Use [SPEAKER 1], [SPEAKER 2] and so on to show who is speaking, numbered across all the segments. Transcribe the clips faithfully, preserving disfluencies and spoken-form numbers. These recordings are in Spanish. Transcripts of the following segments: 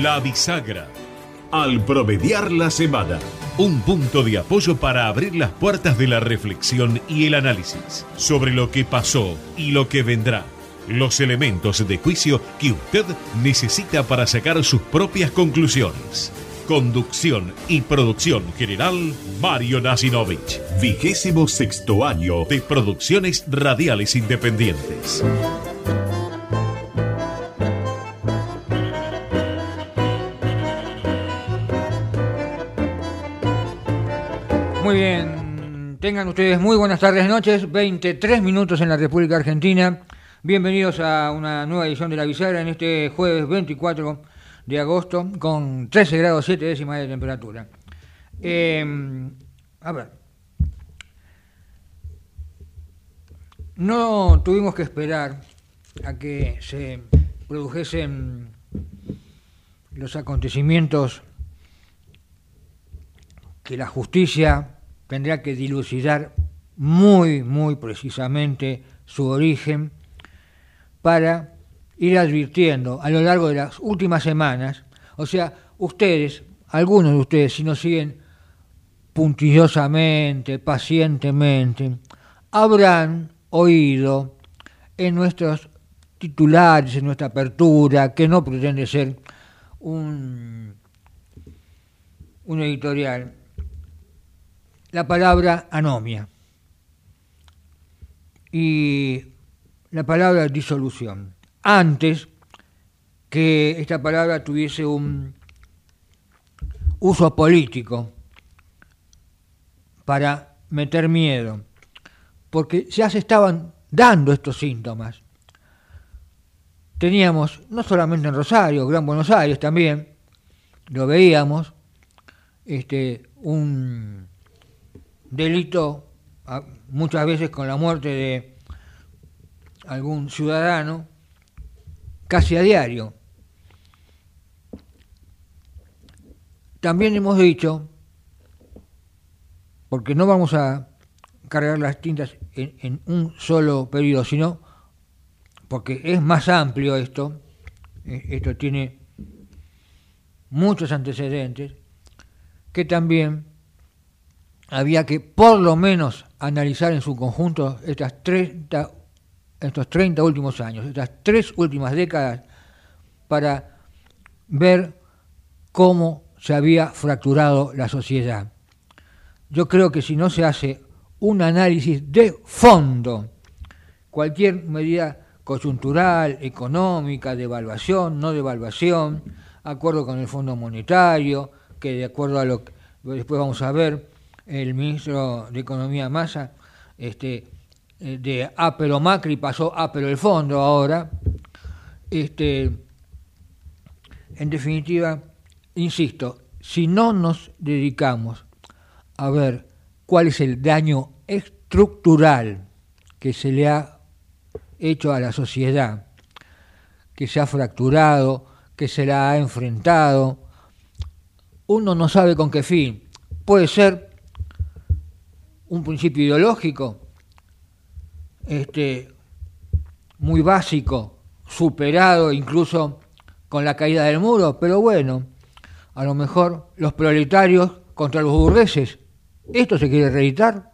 [SPEAKER 1] La Bisagra. Al promediar la semana. Un punto de apoyo para abrir las puertas de la reflexión y el análisis sobre lo que pasó y lo que vendrá. Los elementos de juicio que usted necesita para sacar sus propias conclusiones. Conducción y producción general, Mario Nasinovich. Vigésimo sexto año de Producciones Radiales Independientes.
[SPEAKER 2] Muy bien, tengan ustedes muy buenas tardes, noches, veintitrés minutos en la República Argentina. Bienvenidos a una nueva edición de La Bisagra en este jueves veinticuatro de agosto con trece grados siete décimas de temperatura. Eh, a ver, no tuvimos que esperar a que se produjesen los acontecimientos que la justicia tendrá que dilucidar muy, muy precisamente su origen para ir advirtiendo a lo largo de las últimas semanas. O sea, ustedes, algunos de ustedes, si nos siguen puntillosamente, pacientemente, habrán oído en nuestros titulares, en nuestra apertura, que no pretende ser un, un editorial, la palabra anomia y la palabra disolución, antes que esta palabra tuviese un uso político para meter miedo, porque ya se estaban dando estos síntomas. Teníamos, no solamente en Rosario, Gran Buenos Aires también, lo veíamos, este, un delito, muchas veces con la muerte de algún ciudadano, casi a diario. También hemos dicho, porque no vamos a cargar las tintas en, en un solo periodo, sino porque es más amplio esto, esto tiene muchos antecedentes, que también había que por lo menos analizar en su conjunto estas treinta, estos treinta últimos años, estas tres últimas décadas, para ver cómo se había fracturado la sociedad. Yo creo que si no se hace un análisis de fondo, cualquier medida coyuntural, económica, devaluación, no devaluación, acuerdo con el Fondo Monetario, que de acuerdo a lo que después vamos a ver, el ministro de Economía Massa, este, de A pero Macri pasó A pero el fondo ahora. Este, en definitiva, insisto, si no nos dedicamos a ver cuál es el daño estructural que se le ha hecho a la sociedad, que se ha fracturado, que se la ha enfrentado, uno no sabe con qué fin. Puede ser un principio ideológico, este, muy básico, superado incluso con la caída del muro, pero bueno, a lo mejor los proletarios contra los burgueses, ¿esto se quiere reeditar?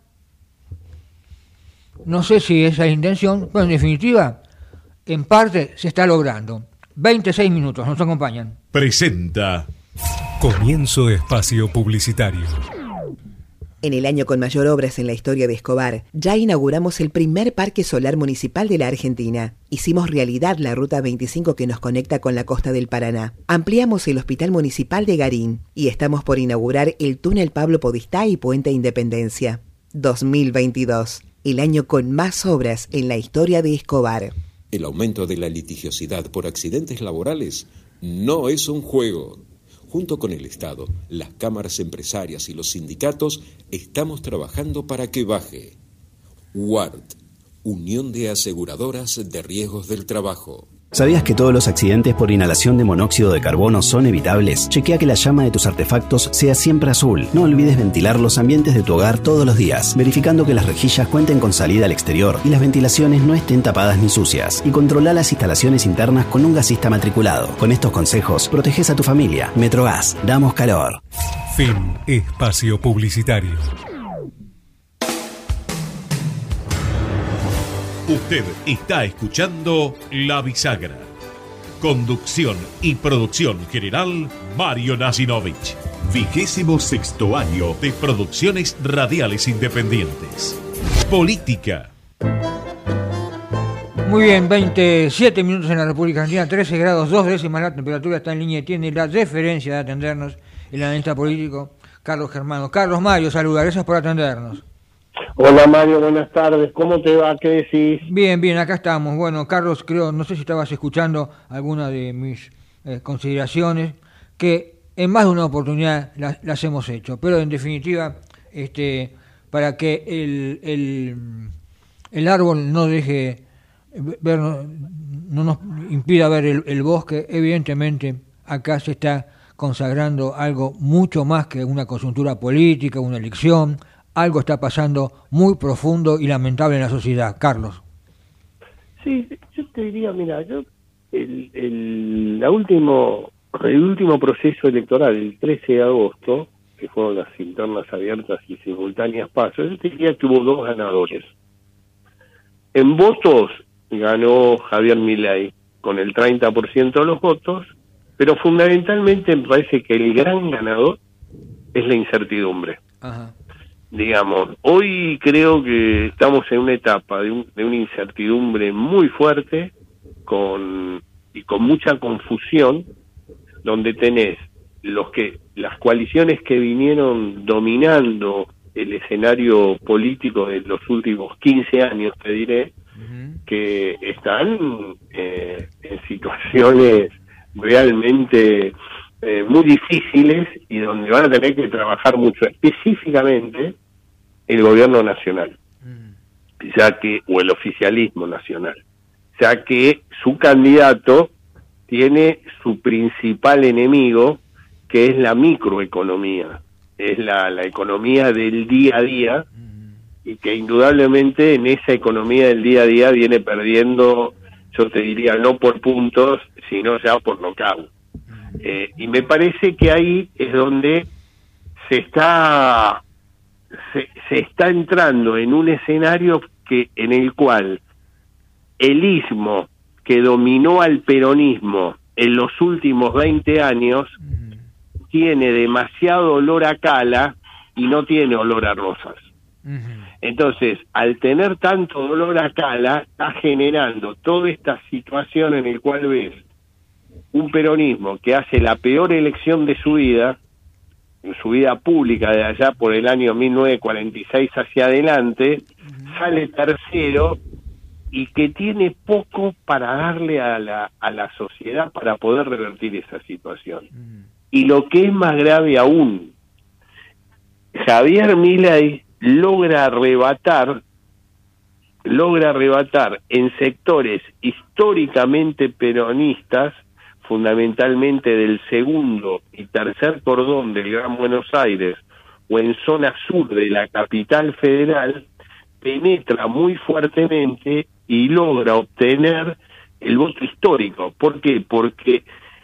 [SPEAKER 2] No sé si esa es la intención, pero en definitiva, en parte se está logrando. veintiséis minutos, nos acompañan.
[SPEAKER 1] Presenta.
[SPEAKER 3] Comienzo espacio publicitario.
[SPEAKER 4] En el año con mayor obras en la historia de Escobar, ya inauguramos el primer parque solar municipal de la Argentina. Hicimos realidad la Ruta veinticinco que nos conecta con la costa del Paraná. Ampliamos el Hospital Municipal de Garín y estamos por inaugurar el túnel Pablo Podestá y Puente Independencia. dos mil veintidós, el año con más obras en la historia de Escobar.
[SPEAKER 5] El aumento de la litigiosidad por accidentes laborales no es un juego. Junto con el Estado, las cámaras empresarias y los sindicatos, estamos trabajando para que baje. U A R T, Unión de Aseguradoras de Riesgos del Trabajo.
[SPEAKER 6] ¿Sabías que todos los accidentes por inhalación de monóxido de carbono son evitables? Chequea que la llama de tus artefactos sea siempre azul. No olvides ventilar los ambientes de tu hogar todos los días, verificando que las rejillas cuenten con salida al exterior y las ventilaciones no estén tapadas ni sucias. Y controla las instalaciones internas con un gasista matriculado. Con estos consejos, proteges a tu familia. Metrogas, damos calor.
[SPEAKER 3] Fin espacio publicitario.
[SPEAKER 1] Usted está escuchando La Bisagra. Conducción y producción general, Mario Nasinovich. Vigésimo sexto año de producciones radiales independientes. Política.
[SPEAKER 2] Muy bien, veintisiete minutos en la República Argentina, trece grados, dos décimas la temperatura, está en línea y tiene la deferencia de atendernos el analista político Carlos Germano. Carlos Mario, saluda, gracias por atendernos.
[SPEAKER 7] Hola Mario, buenas tardes. ¿Cómo te va? ¿Qué decís?
[SPEAKER 2] Bien, bien, acá estamos. Bueno, Carlos, creo, no sé si estabas escuchando alguna de mis eh, consideraciones, que en más de una oportunidad las, las hemos hecho, pero en definitiva, este, para que el, el, el árbol no deje ver, no, no nos impida ver el, el bosque, evidentemente acá se está consagrando algo mucho más que una coyuntura política, una elección. Algo está pasando muy profundo y lamentable en la sociedad. Carlos.
[SPEAKER 7] Sí, yo te diría, mira, yo el, el, la último, el último proceso electoral, el trece de agosto, que fueron las internas abiertas y simultáneas pasos, yo te diría que hubo dos ganadores. En votos ganó Javier Milei con el treinta por ciento de los votos, pero fundamentalmente me parece que el gran ganador es la incertidumbre. Ajá. Digamos, hoy creo que estamos en una etapa de, un, de una incertidumbre muy fuerte con y con mucha confusión, donde tenés los que las coaliciones que vinieron dominando el escenario político de los últimos quince años, te diré, uh-huh. que están eh, en situaciones realmente Eh, muy difíciles y donde van a tener que trabajar mucho, específicamente el gobierno nacional, mm. ya que o el oficialismo nacional, ya que su candidato tiene su principal enemigo, que es la microeconomía, es la, la economía del día a día, mm. y que indudablemente en esa economía del día a día viene perdiendo, yo te diría, no por puntos, sino ya por nocaut. Eh, y me parece que ahí es donde se está se, se está entrando en un escenario que en el cual el ismo que dominó al peronismo en los últimos veinte años uh-huh. tiene demasiado olor a cala y no tiene olor a rosas. Uh-huh. Entonces, al tener tanto olor a cala, está generando toda esta situación en el cual ves un peronismo que hace la peor elección de su vida, en su vida pública de allá por el año mil novecientos cuarenta y seis hacia adelante, uh-huh. sale tercero y que tiene poco para darle a la, a la sociedad para poder revertir esa situación. Uh-huh. Y lo que es más grave aún, Javier Milei logra arrebatar, logra arrebatar en sectores históricamente peronistas, fundamentalmente del segundo y tercer cordón del Gran Buenos Aires o en zona sur de la capital federal, penetra muy fuertemente y logra obtener el voto histórico. ¿Por qué? Porque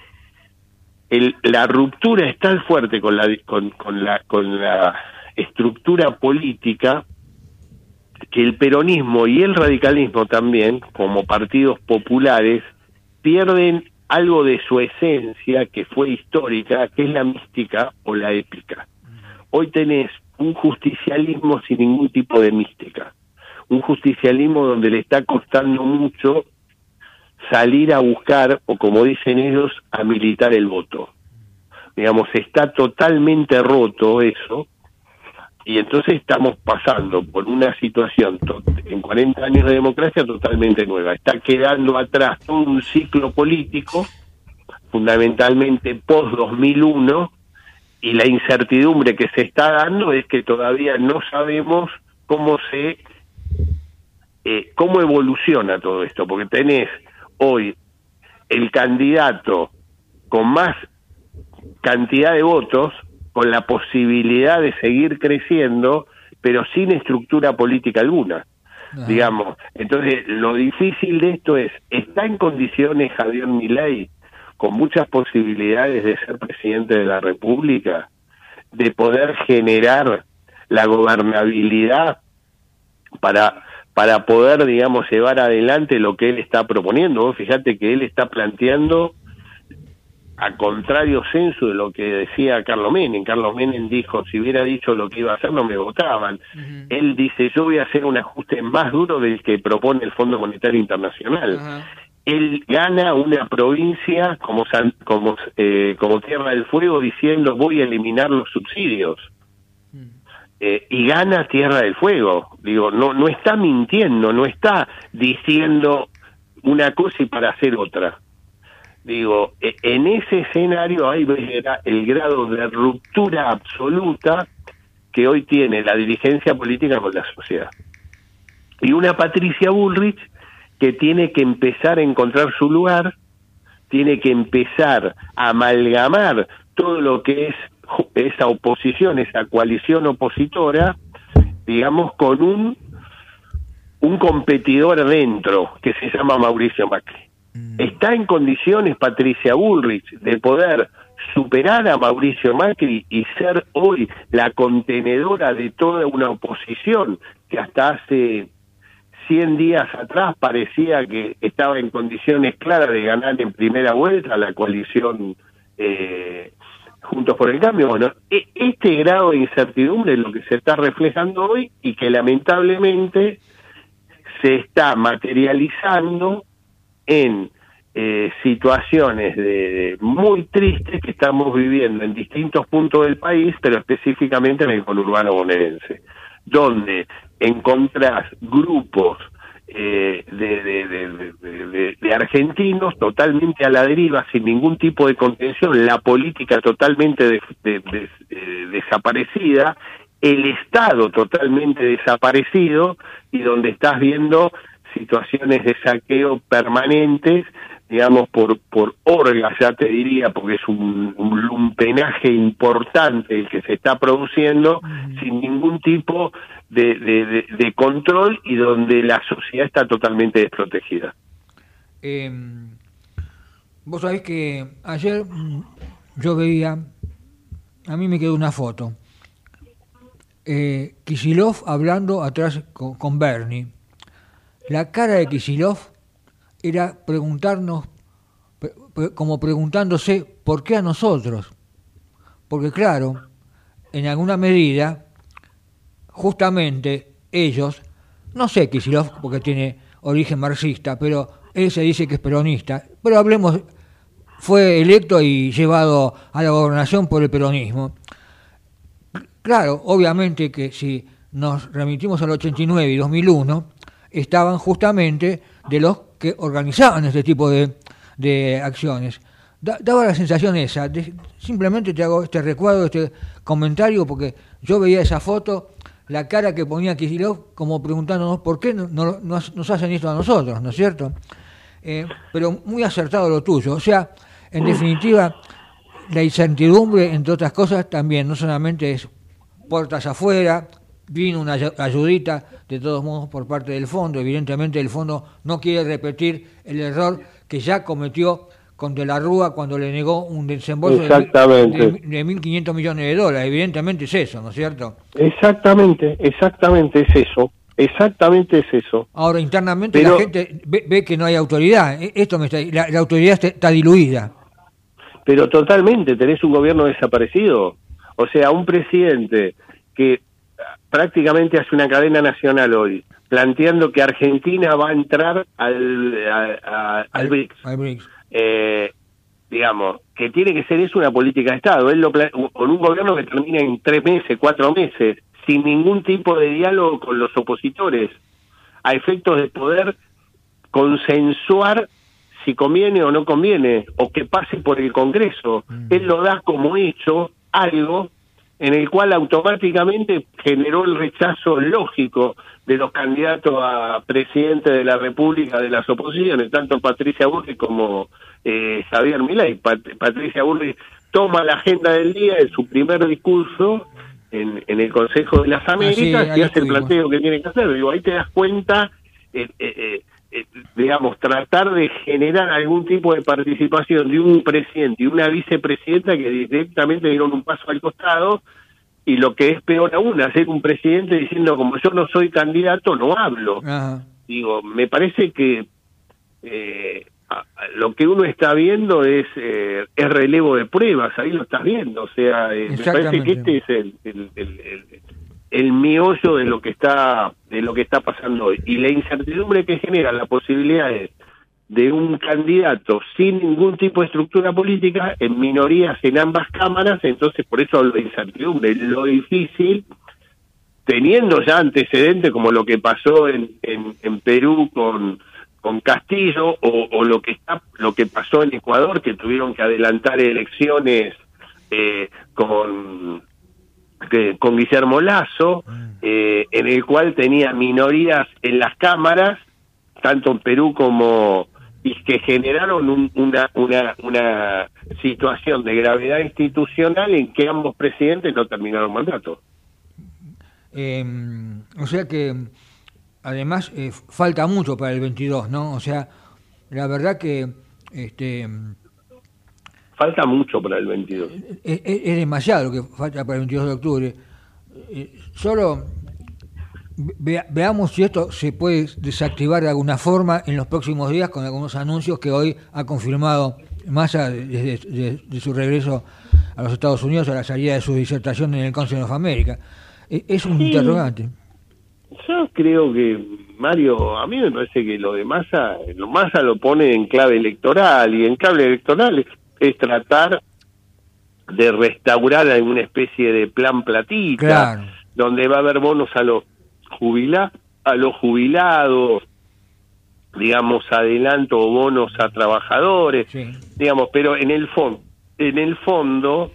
[SPEAKER 7] el, la ruptura es tan fuerte con la, con, con la, con la estructura política que el peronismo y el radicalismo también, como partidos populares, pierden algo de su esencia que fue histórica, que es la mística o la épica. Hoy tenés un justicialismo sin ningún tipo de mística, un justicialismo donde le está costando mucho salir a buscar, o como dicen ellos, a militar el voto. Digamos, está totalmente roto eso, y entonces estamos pasando por una situación to- en cuarenta años de democracia totalmente nueva. Está quedando atrás todo un ciclo político, fundamentalmente post dos mil uno, y la incertidumbre que se está dando es que todavía no sabemos cómo se eh, cómo evoluciona todo esto, porque tenés hoy el candidato con más cantidad de votos, con la posibilidad de seguir creciendo, pero sin estructura política alguna. Ajá. Digamos, entonces lo difícil de esto es, ¿está en condiciones Javier Milei, con muchas posibilidades de ser presidente de la República, de poder generar la gobernabilidad para para poder, digamos, llevar adelante lo que él está proponiendo? Vos fíjate que él está planteando a contrario censo de lo que decía Carlos Menem. Carlos Menem dijo, si hubiera dicho lo que iba a hacer no me votaban. Uh-huh. Él dice, yo voy a hacer un ajuste más duro del que propone el Fondo Monetario Internacional. Uh-huh. Él gana una provincia como como eh, como Tierra del Fuego diciendo, voy a eliminar los subsidios. Uh-huh. Eh, y gana Tierra del Fuego. Digo, no no está mintiendo, no está diciendo una cosa y para hacer otra. Digo, en ese escenario hay el grado de ruptura absoluta que hoy tiene la dirigencia política con la sociedad. Y una Patricia Bullrich que tiene que empezar a encontrar su lugar, tiene que empezar a amalgamar todo lo que es esa oposición, esa coalición opositora, digamos, con un, un competidor adentro que se llama Mauricio Macri. ¿Está en condiciones Patricia Bullrich de poder superar a Mauricio Macri y ser hoy la contenedora de toda una oposición que hasta hace cien días atrás parecía que estaba en condiciones claras de ganar en primera vuelta la coalición eh, Juntos por el Cambio? Bueno, este grado de incertidumbre es lo que se está reflejando hoy y que lamentablemente se está materializando en eh, situaciones de, de muy tristes que estamos viviendo en distintos puntos del país, pero específicamente en el conurbano bonaerense, donde encontrás grupos eh, de, de, de, de, de, de argentinos totalmente a la deriva, sin ningún tipo de contención, la política totalmente de, de, de, de, desaparecida, el Estado totalmente desaparecido, y donde estás viendo situaciones de saqueo permanentes, digamos, por por orgas, ya te diría, porque es un, un lumpenaje importante el que se está produciendo, uh-huh. sin ningún tipo de, de, de, de control, y donde la sociedad está totalmente desprotegida.
[SPEAKER 2] Eh, vos sabés que ayer yo veía, a mí me quedó una foto, eh, Kicillof hablando atrás con, con Bernie. La cara de Kicillof era preguntarnos, como preguntándose, ¿por qué a nosotros? Porque claro, en alguna medida, justamente ellos, no sé Kicillof porque tiene origen marxista, pero él se dice que es peronista, pero hablemos, fue electo y llevado a la gobernación por el peronismo. Claro, obviamente que si nos remitimos al ochenta y nueve y dos mil uno, estaban justamente de los que organizaban este tipo de, de acciones. Da, daba la sensación esa, de, simplemente te hago este recuadro, este comentario, porque yo veía esa foto, la cara que ponía Kicillof como preguntándonos por qué no, no, nos, nos hacen esto a nosotros, ¿no es cierto? Eh, pero muy acertado lo tuyo. O sea, en definitiva, la incertidumbre, entre otras cosas, también no solamente es puertas afuera. Vino una ayudita, de todos modos, por parte del fondo. Evidentemente el fondo no quiere repetir el error que ya cometió con De la Rúa cuando le negó un desembolso de, de, de mil quinientos millones de dólares. Evidentemente es eso, ¿no es cierto?
[SPEAKER 7] Exactamente, exactamente es eso. Exactamente es eso.
[SPEAKER 2] Ahora, internamente Pero, la gente ve, ve que no hay autoridad. Esto me está, la, la autoridad está, está diluida.
[SPEAKER 7] Pero totalmente, tenés un gobierno desaparecido. O sea, un presidente que prácticamente hace una cadena nacional hoy, planteando que Argentina va a entrar al, a, a, al, al BRICS. Al BRICS. Eh, digamos, que tiene que ser eso una política de Estado. Él lo con un gobierno que termina en tres meses, cuatro meses, sin ningún tipo de diálogo con los opositores, a efectos de poder consensuar si conviene o no conviene, o que pase por el Congreso. Mm. Él lo da como hecho algo en el cual automáticamente generó el rechazo lógico de los candidatos a presidente de la República de las oposiciones, tanto Patricia Bullrich como eh, Javier Milei. Pat- Patricia Bullrich toma la agenda del día en su primer discurso en, en el Consejo de las Américas ah, sí, y hace el planteo que tiene que hacer. Digo, ahí te das cuenta, eh, eh, eh, digamos, tratar de generar algún tipo de participación de un presidente y una vicepresidenta que directamente dieron un paso al costado, y lo que es peor aún, hacer un presidente diciendo, como yo no soy candidato, no hablo. Ajá. Digo, me parece que eh, lo que uno está viendo es eh, es relevo de pruebas, ahí lo estás viendo, o sea, eh, me parece que este es el, el, el, el, el meollo de lo que está de lo que está pasando hoy, y la incertidumbre que genera la posibilidad de, de un candidato sin ningún tipo de estructura política, en minorías en ambas cámaras. Entonces por eso hablo de incertidumbre, lo difícil, teniendo ya antecedentes como lo que pasó en, en, en Perú con con Castillo, o, o lo que está lo que pasó en Ecuador, que tuvieron que adelantar elecciones eh, con que, con Guillermo Lasso, eh, en el cual tenía minorías en las cámaras, tanto en Perú como, y que generaron un, una una una situación de gravedad institucional en que ambos presidentes no terminaron mandato.
[SPEAKER 2] Eh, o sea que además eh, falta mucho para el veintidós, ¿no? O sea, la verdad que este
[SPEAKER 7] falta mucho para el veintidós.
[SPEAKER 2] Es, es, es demasiado lo que falta para el veintidós de octubre. Eh, solo ve, veamos si esto se puede desactivar de alguna forma en los próximos días con algunos anuncios que hoy ha confirmado Massa desde de, de su regreso a los Estados Unidos, a la salida de su disertación en el Council of America. Eh, es un sí. interrogante.
[SPEAKER 7] Yo creo que, Mario, a mí me parece que lo de Massa, lo Massa lo pone en clave electoral, y en clave electoral es, es tratar de restaurar alguna especie de plan platita, claro, donde va a haber bonos a los jubila, a los jubilados, digamos, adelanto o bonos a trabajadores, sí. digamos, pero en el fondo, en el fondo,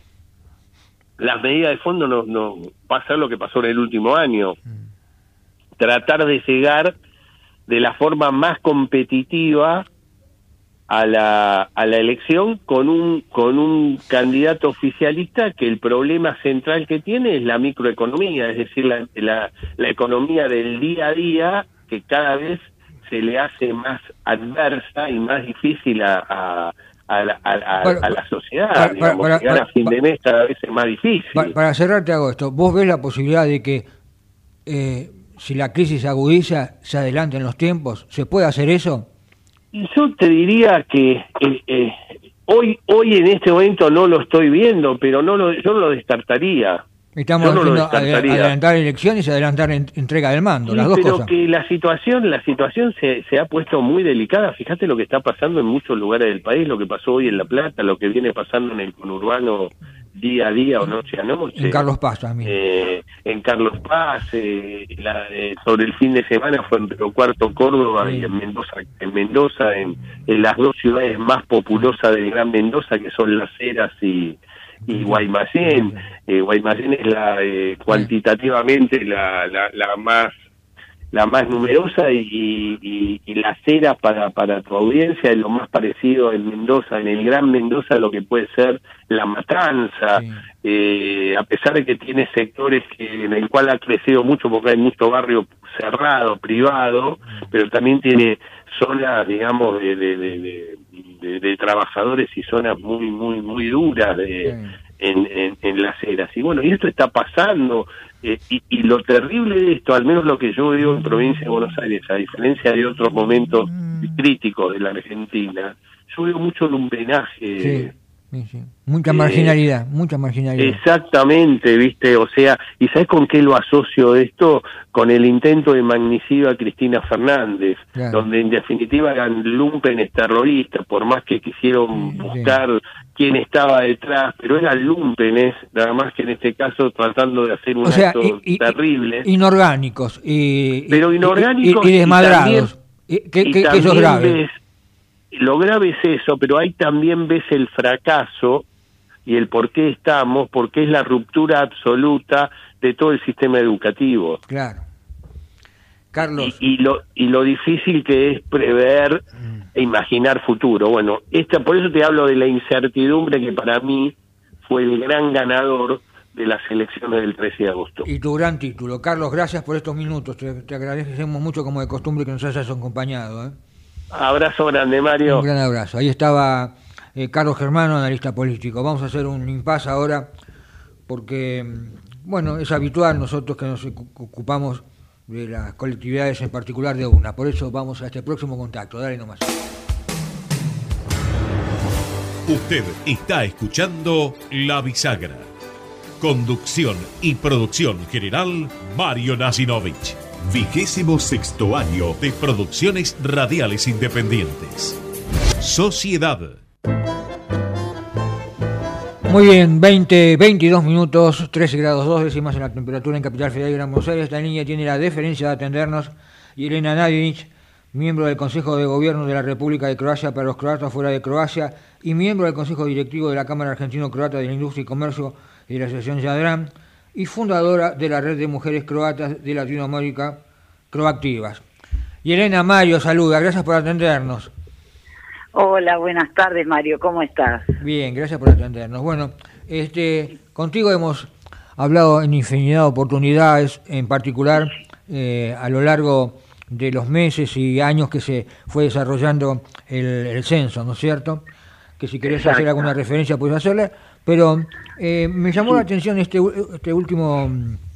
[SPEAKER 7] las medidas de fondo no, no va a ser lo que pasó en el último año. Mm. Tratar de llegar de la forma más competitiva a la a la elección con un con un candidato oficialista que el problema central que tiene es la microeconomía, es decir, la la, la economía del día a día, que cada vez se le hace más adversa y más difícil a, a A la, a, a, para, a la sociedad, para, digamos, para, llegar para, a fin de mes cada vez es más difícil.
[SPEAKER 2] Para, para cerrar te hago esto, ¿vos ves la posibilidad de que eh, si la crisis se agudiza, se adelanten los tiempos? ¿Se puede hacer eso?
[SPEAKER 7] Yo te diría que eh, eh, hoy hoy en este momento no lo estoy viendo, pero no lo, yo no lo descartaría.
[SPEAKER 2] Estamos
[SPEAKER 7] yo no
[SPEAKER 2] haciendo adelantar elecciones y adelantar en, entrega del mando, sí, las dos
[SPEAKER 7] pero
[SPEAKER 2] cosas.
[SPEAKER 7] Pero que la situación la situación se, se ha puesto muy delicada. Fíjate lo que está pasando en muchos lugares del país, lo que pasó hoy en La Plata, lo que viene pasando en el conurbano día a día o noche a noche.
[SPEAKER 2] En Carlos Paz también.
[SPEAKER 7] Eh, en Carlos Paz, eh, la, eh, sobre el fin de semana fue en Río Cuarto, Córdoba, sí. y en Mendoza, en Mendoza, en, en las dos ciudades más populosas del Gran Mendoza, que son Las Heras y y Guaymallén. eh, Guaymallén es la eh, cuantitativamente la, la la más la más numerosa, y, y, y Las Heras, para para tu audiencia, es lo más parecido en Mendoza, en el Gran Mendoza, a lo que puede ser La Matanza, sí. eh, a pesar de que tiene sectores que, en el cual ha crecido mucho porque hay mucho barrio cerrado, privado, pero también tiene zonas, digamos, de, de, de, de De, de trabajadores y zonas muy muy muy duras de sí. en, en, en Las Heras. Y bueno, y esto está pasando, eh, y, y lo terrible de esto, al menos lo que yo veo en provincia de Buenos Aires, a diferencia de otros momentos críticos de la Argentina, yo veo mucho lumpenaje.
[SPEAKER 2] Sí. Sí, sí. Mucha marginalidad, eh, mucha marginalidad.
[SPEAKER 7] Exactamente, viste, o sea, ¿y sabes con qué lo asocio esto? Con el intento de magnicidio a Cristina Fernández, claro. donde en definitiva eran lumpenes terroristas, por más que quisieron sí, buscar sí. quién estaba detrás, pero eran lumpenes, nada más que en este caso tratando de hacer un
[SPEAKER 2] o sea,
[SPEAKER 7] acto
[SPEAKER 2] y, y,
[SPEAKER 7] terrible.
[SPEAKER 2] Inorgánicos, y,
[SPEAKER 7] pero inorgánicos
[SPEAKER 2] y, y, y desmadrados. Y también, que, que, que eso es grave.
[SPEAKER 7] Ves, lo grave es eso, pero ahí también ves el fracaso y el por qué estamos, porque es la ruptura absoluta de todo el sistema educativo.
[SPEAKER 2] Claro. Carlos.
[SPEAKER 7] Y, y, lo, y lo difícil que es prever e imaginar futuro. Bueno, esta, por eso te hablo de la incertidumbre que para mí fue el gran ganador de las elecciones del trece de agosto.
[SPEAKER 2] Y tu gran título. Carlos, gracias por estos minutos. Te, te agradecemos mucho, como de costumbre, que nos hayas acompañado. ¿eh?
[SPEAKER 7] Abrazo grande, Mario.
[SPEAKER 2] Un gran abrazo. Ahí estaba eh, Carlos Germano, analista político. Vamos a hacer un impasse ahora, porque, bueno, es habitual nosotros que nos ocupamos de las colectividades, en particular de una. Por eso vamos a este próximo contacto. Dale nomás.
[SPEAKER 1] Usted está escuchando La Bisagra. Conducción y producción general, Mario Nasinovich. Vigésimo sexto año de Producciones Radiales Independientes. Sociedad.
[SPEAKER 2] Muy bien, veinte, veintidós minutos, trece grados dos décimas en la temperatura en Capital Federal de Gran Buenos Aires. Esta niña tiene la deferencia de atendernos Jelena Nadinic, miembro del Consejo de Gobierno de la República de Croacia para los croatas fuera de Croacia y miembro del Consejo Directivo de la Cámara Argentino-Croata de la Industria y Comercio y de la Asociación Yadran, y fundadora de la Red de Mujeres Croatas de Latinoamérica, Croactivas. Jelena, Mario, saluda, gracias por atendernos.
[SPEAKER 8] Hola, buenas tardes, Mario, ¿cómo estás?
[SPEAKER 2] Bien, gracias por atendernos. Bueno, este, contigo hemos hablado en infinidad de oportunidades, en particular eh, a lo largo de los meses y años que se fue desarrollando el, el censo, ¿no es cierto? Que si querés Exacto. hacer alguna referencia puedes hacerla, pero eh, me llamó sí. la atención este, este último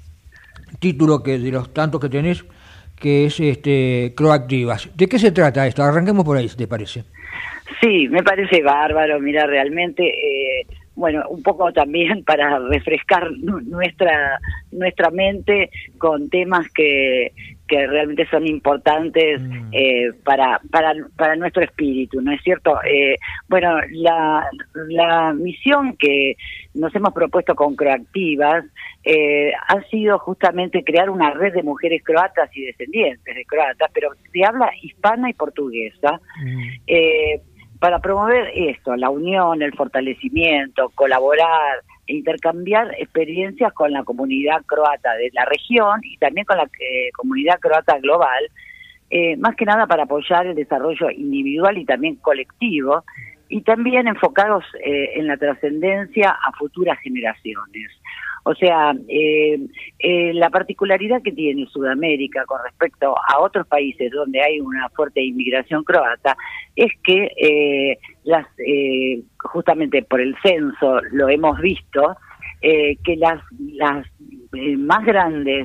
[SPEAKER 2] título que de los tantos que tenés, que es este Croactivas. ¿De qué se trata esto? Arranquemos por ahí, si te parece.
[SPEAKER 8] Sí, me parece bárbaro, mira, realmente, eh, bueno, un poco también para refrescar nuestra nuestra mente con temas que que realmente son importantes mm. eh, para para para nuestro espíritu, ¿no es cierto? Eh, bueno, la la misión que nos hemos propuesto con Croactivas eh, ha sido justamente crear una red de mujeres croatas y descendientes de croatas, pero de habla hispana y portuguesa, mm. eh, para promover esto, la unión, el fortalecimiento, colaborar, intercambiar experiencias con la comunidad croata de la región y también con la eh, comunidad croata global, eh, más que nada para apoyar el desarrollo individual y también colectivo, y también enfocados eh, en la trascendencia a futuras generaciones. O sea, eh, eh, la particularidad que tiene Sudamérica con respecto a otros países donde hay una fuerte inmigración croata es que eh, las eh, justamente por el censo lo hemos visto, eh, que las, las eh, más grandes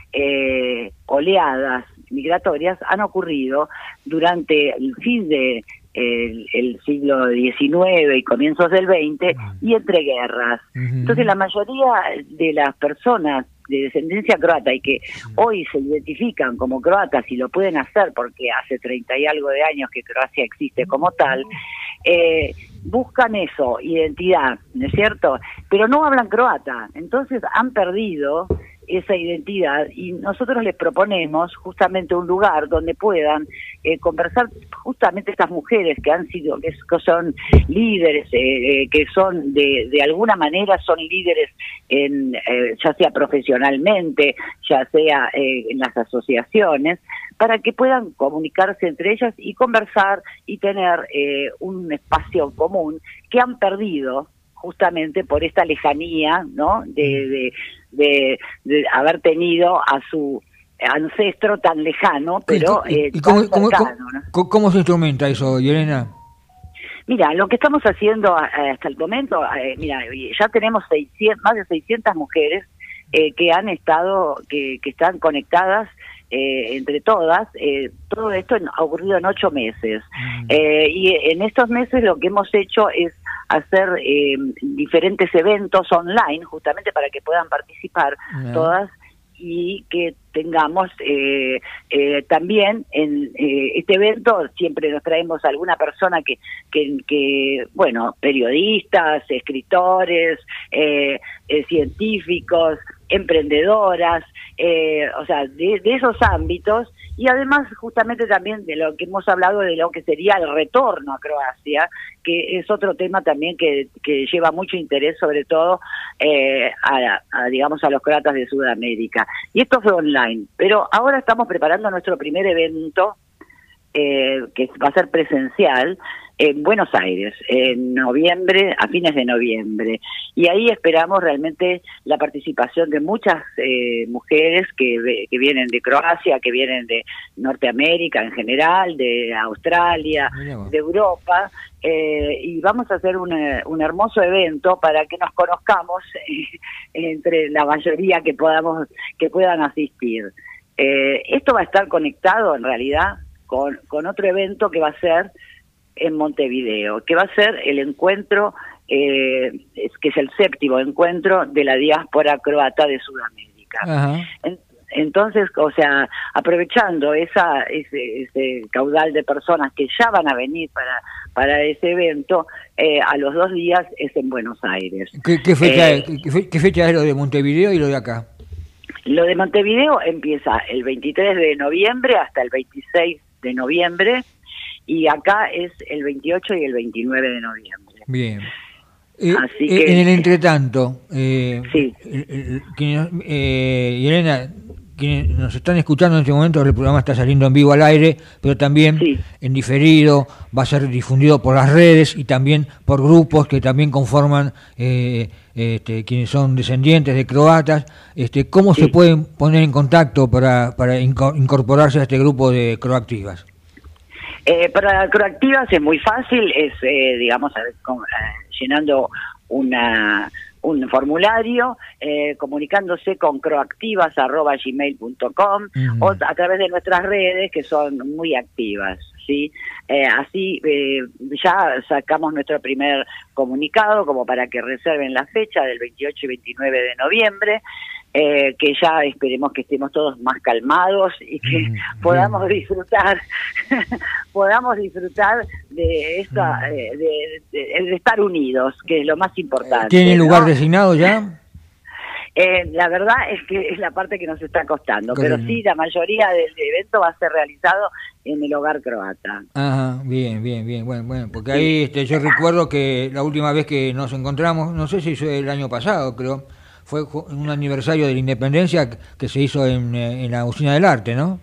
[SPEAKER 8] eh, oleadas migratorias han ocurrido durante el fin de El, el siglo diecinueve y comienzos del veinte y entre guerras. Uh-huh. Entonces la mayoría de las personas de descendencia croata y que hoy se identifican como croatas y lo pueden hacer porque hace treinta y algo de años que Croacia existe como tal, eh, buscan eso, identidad, ¿no es cierto? Pero no hablan croata, entonces han perdido esa identidad y nosotros les proponemos justamente un lugar donde puedan eh, conversar justamente estas mujeres que han sido, que son líderes, eh, que son de, de alguna manera son líderes en eh, ya sea profesionalmente, ya sea eh, en las asociaciones, para que puedan comunicarse entre ellas y conversar y tener eh, un espacio común que han perdido justamente por esta lejanía, ¿no? De, de, de, de haber tenido a su ancestro tan lejano, pero
[SPEAKER 2] ¿Y,
[SPEAKER 8] eh,
[SPEAKER 2] y cómo,
[SPEAKER 8] tan
[SPEAKER 2] cómo,
[SPEAKER 8] cercano, ¿no?
[SPEAKER 2] cómo, cómo se instrumenta eso, Jelena?
[SPEAKER 8] Mira, lo que estamos haciendo hasta el momento, eh, mira, ya tenemos seiscientas, más de seiscientas mujeres eh, que han estado, que, que están conectadas eh, entre todas. Eh, todo esto ha ocurrido en ocho meses. Mm. Eh, y en estos meses lo que hemos hecho es hacer eh, diferentes eventos online, justamente para que puedan participar yeah. todas y que tengamos eh, eh, también en eh, este evento siempre nos traemos a alguna persona que, que, que bueno, periodistas, escritores, eh, eh, científicos, emprendedoras, eh, o sea, de, de esos ámbitos y además justamente también de lo que hemos hablado de lo que sería el retorno a Croacia, que es otro tema también que, que lleva mucho interés, sobre todo eh, a, a, digamos, a los croatas de Sudamérica. Y esto fue online, pero ahora estamos preparando nuestro primer evento, eh, que va a ser presencial, en Buenos Aires, en noviembre, a fines de noviembre. Y ahí esperamos realmente la participación de muchas eh, mujeres que, que vienen de Croacia, que vienen de Norteamérica en general, de Australia, de Europa, eh, y vamos a hacer un, un hermoso evento para que nos conozcamos eh, entre la mayoría que podamos, que puedan asistir. Eh, esto va a estar conectado en realidad con, con otro evento que va a ser en Montevideo, que va a ser el encuentro, eh, que es el séptimo encuentro de la diáspora croata de Sudamérica. Ajá. En, entonces, o sea, aprovechando esa ese, ese caudal de personas que ya van a venir para para ese evento, eh, a los dos días es en Buenos Aires.
[SPEAKER 2] ¿Qué, qué, fecha,
[SPEAKER 8] eh,
[SPEAKER 2] es, qué, qué fecha es lo de Montevideo y lo de acá?
[SPEAKER 8] Lo de Montevideo empieza el veintitrés de noviembre hasta el veintiséis de noviembre, y acá es el veintiocho y el veintinueve de noviembre.
[SPEAKER 2] Bien. Eh,
[SPEAKER 8] Así
[SPEAKER 2] eh,
[SPEAKER 8] que,
[SPEAKER 2] en el entretanto, eh,
[SPEAKER 8] sí.
[SPEAKER 2] eh, quienes, eh, Elena, quienes nos están escuchando en este momento, el programa está saliendo en vivo al aire, pero también sí. en diferido, va a ser difundido por las redes y también por grupos que también conforman eh, este, quienes son descendientes de croatas. Este, ¿Cómo sí. se pueden poner en contacto para, para incorporarse a este grupo de Croactivas?
[SPEAKER 8] Eh, para Croactivas es muy fácil, es, eh, digamos, con, eh, llenando una un formulario, eh, comunicándose con croactivas arroba gmail punto com uh-huh. o a través de nuestras redes, que son muy activas, ¿sí? Eh, así eh, ya sacamos nuestro primer comunicado como para que reserven la fecha del veintiocho y veintinueve de noviembre, Eh, que ya esperemos que estemos todos más calmados y que mm, podamos bien. disfrutar podamos disfrutar de esta mm. eh, de, de, de estar unidos, que es lo más importante.
[SPEAKER 2] ¿Tiene lugar
[SPEAKER 8] ¿no?
[SPEAKER 2] designado ya?
[SPEAKER 8] Eh, la verdad es que es la parte que nos está costando, pero sí, la mayoría del evento va a ser realizado en el hogar croata.
[SPEAKER 2] Ajá, bien, bien, bien, bueno, bueno, porque sí. ahí este, yo recuerdo que la última vez que nos encontramos, no sé si fue el año pasado, creo, fue un aniversario de la independencia que se hizo en, en la Usina del Arte, ¿no?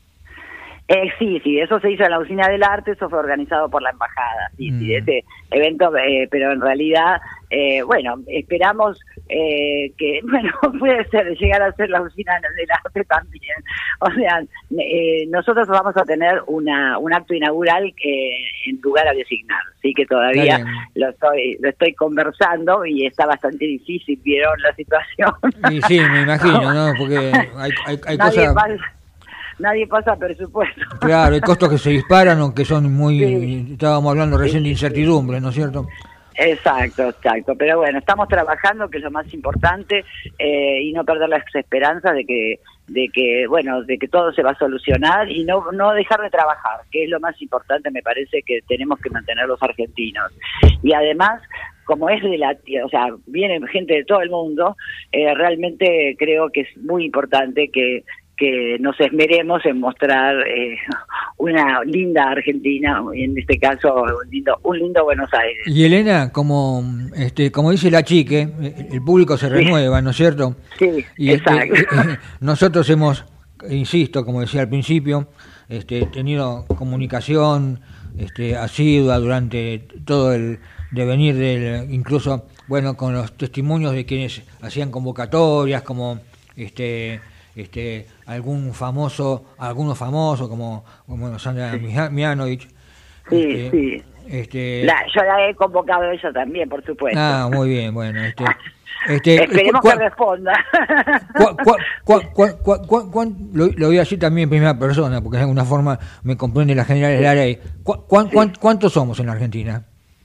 [SPEAKER 8] Eh, sí, sí, eso se hizo en la Usina del Arte, eso fue organizado por la Embajada, sí, mm. sí, ese evento, eh, pero en realidad, eh, bueno, esperamos eh, que, bueno, puede ser, llegar a ser la Usina del Arte también. O sea, eh, nosotros vamos a tener una un acto inaugural eh, en lugar a designar, sí, que todavía lo estoy lo estoy conversando y está bastante difícil, vieron la situación.
[SPEAKER 2] Y sí, me imagino, ¿no? Porque hay, hay, hay cosas...
[SPEAKER 8] Nadie pasa presupuesto.
[SPEAKER 2] Claro, hay costos que se disparan o que son muy... Sí. Estábamos hablando recién de incertidumbre, ¿no es cierto?
[SPEAKER 8] Exacto, exacto. Pero bueno, estamos trabajando, que es lo más importante, eh, y no perder las esperanzas de que, de que, bueno, de que todo se va a solucionar y no, no dejar de trabajar, que es lo más importante, me parece, que tenemos que mantener los argentinos. Y además, como es de la, o sea, viene gente de todo el mundo, eh, realmente creo que es muy importante que que nos esmeremos en mostrar eh, una linda Argentina, en este caso un lindo, un lindo Buenos Aires.
[SPEAKER 2] Y Elena, como este, como dice la chique, el público se renueva, sí. ¿no es cierto?
[SPEAKER 8] Sí,
[SPEAKER 2] y
[SPEAKER 8] exacto.
[SPEAKER 2] Eh, eh, nosotros hemos, insisto, como decía al principio, este, tenido comunicación este, asidua durante todo el devenir del, incluso, bueno, con los testimonios de quienes hacían convocatorias, como este este algún famoso, algunos famosos como, como Sandra sí. Mianovich.
[SPEAKER 8] Sí,
[SPEAKER 2] este,
[SPEAKER 8] sí.
[SPEAKER 2] Este,
[SPEAKER 8] la, yo la he convocado a ella también, por supuesto.
[SPEAKER 2] Ah, muy bien, bueno. Este, este,
[SPEAKER 8] Esperemos cu- que responda.
[SPEAKER 2] Cu- cu- cu- cu- cu- cu- cu- lo, lo voy a decir también en primera persona, porque de alguna forma me comprende la general de la ley. Cu- cu- cu- ¿Cuántos somos en la Argentina?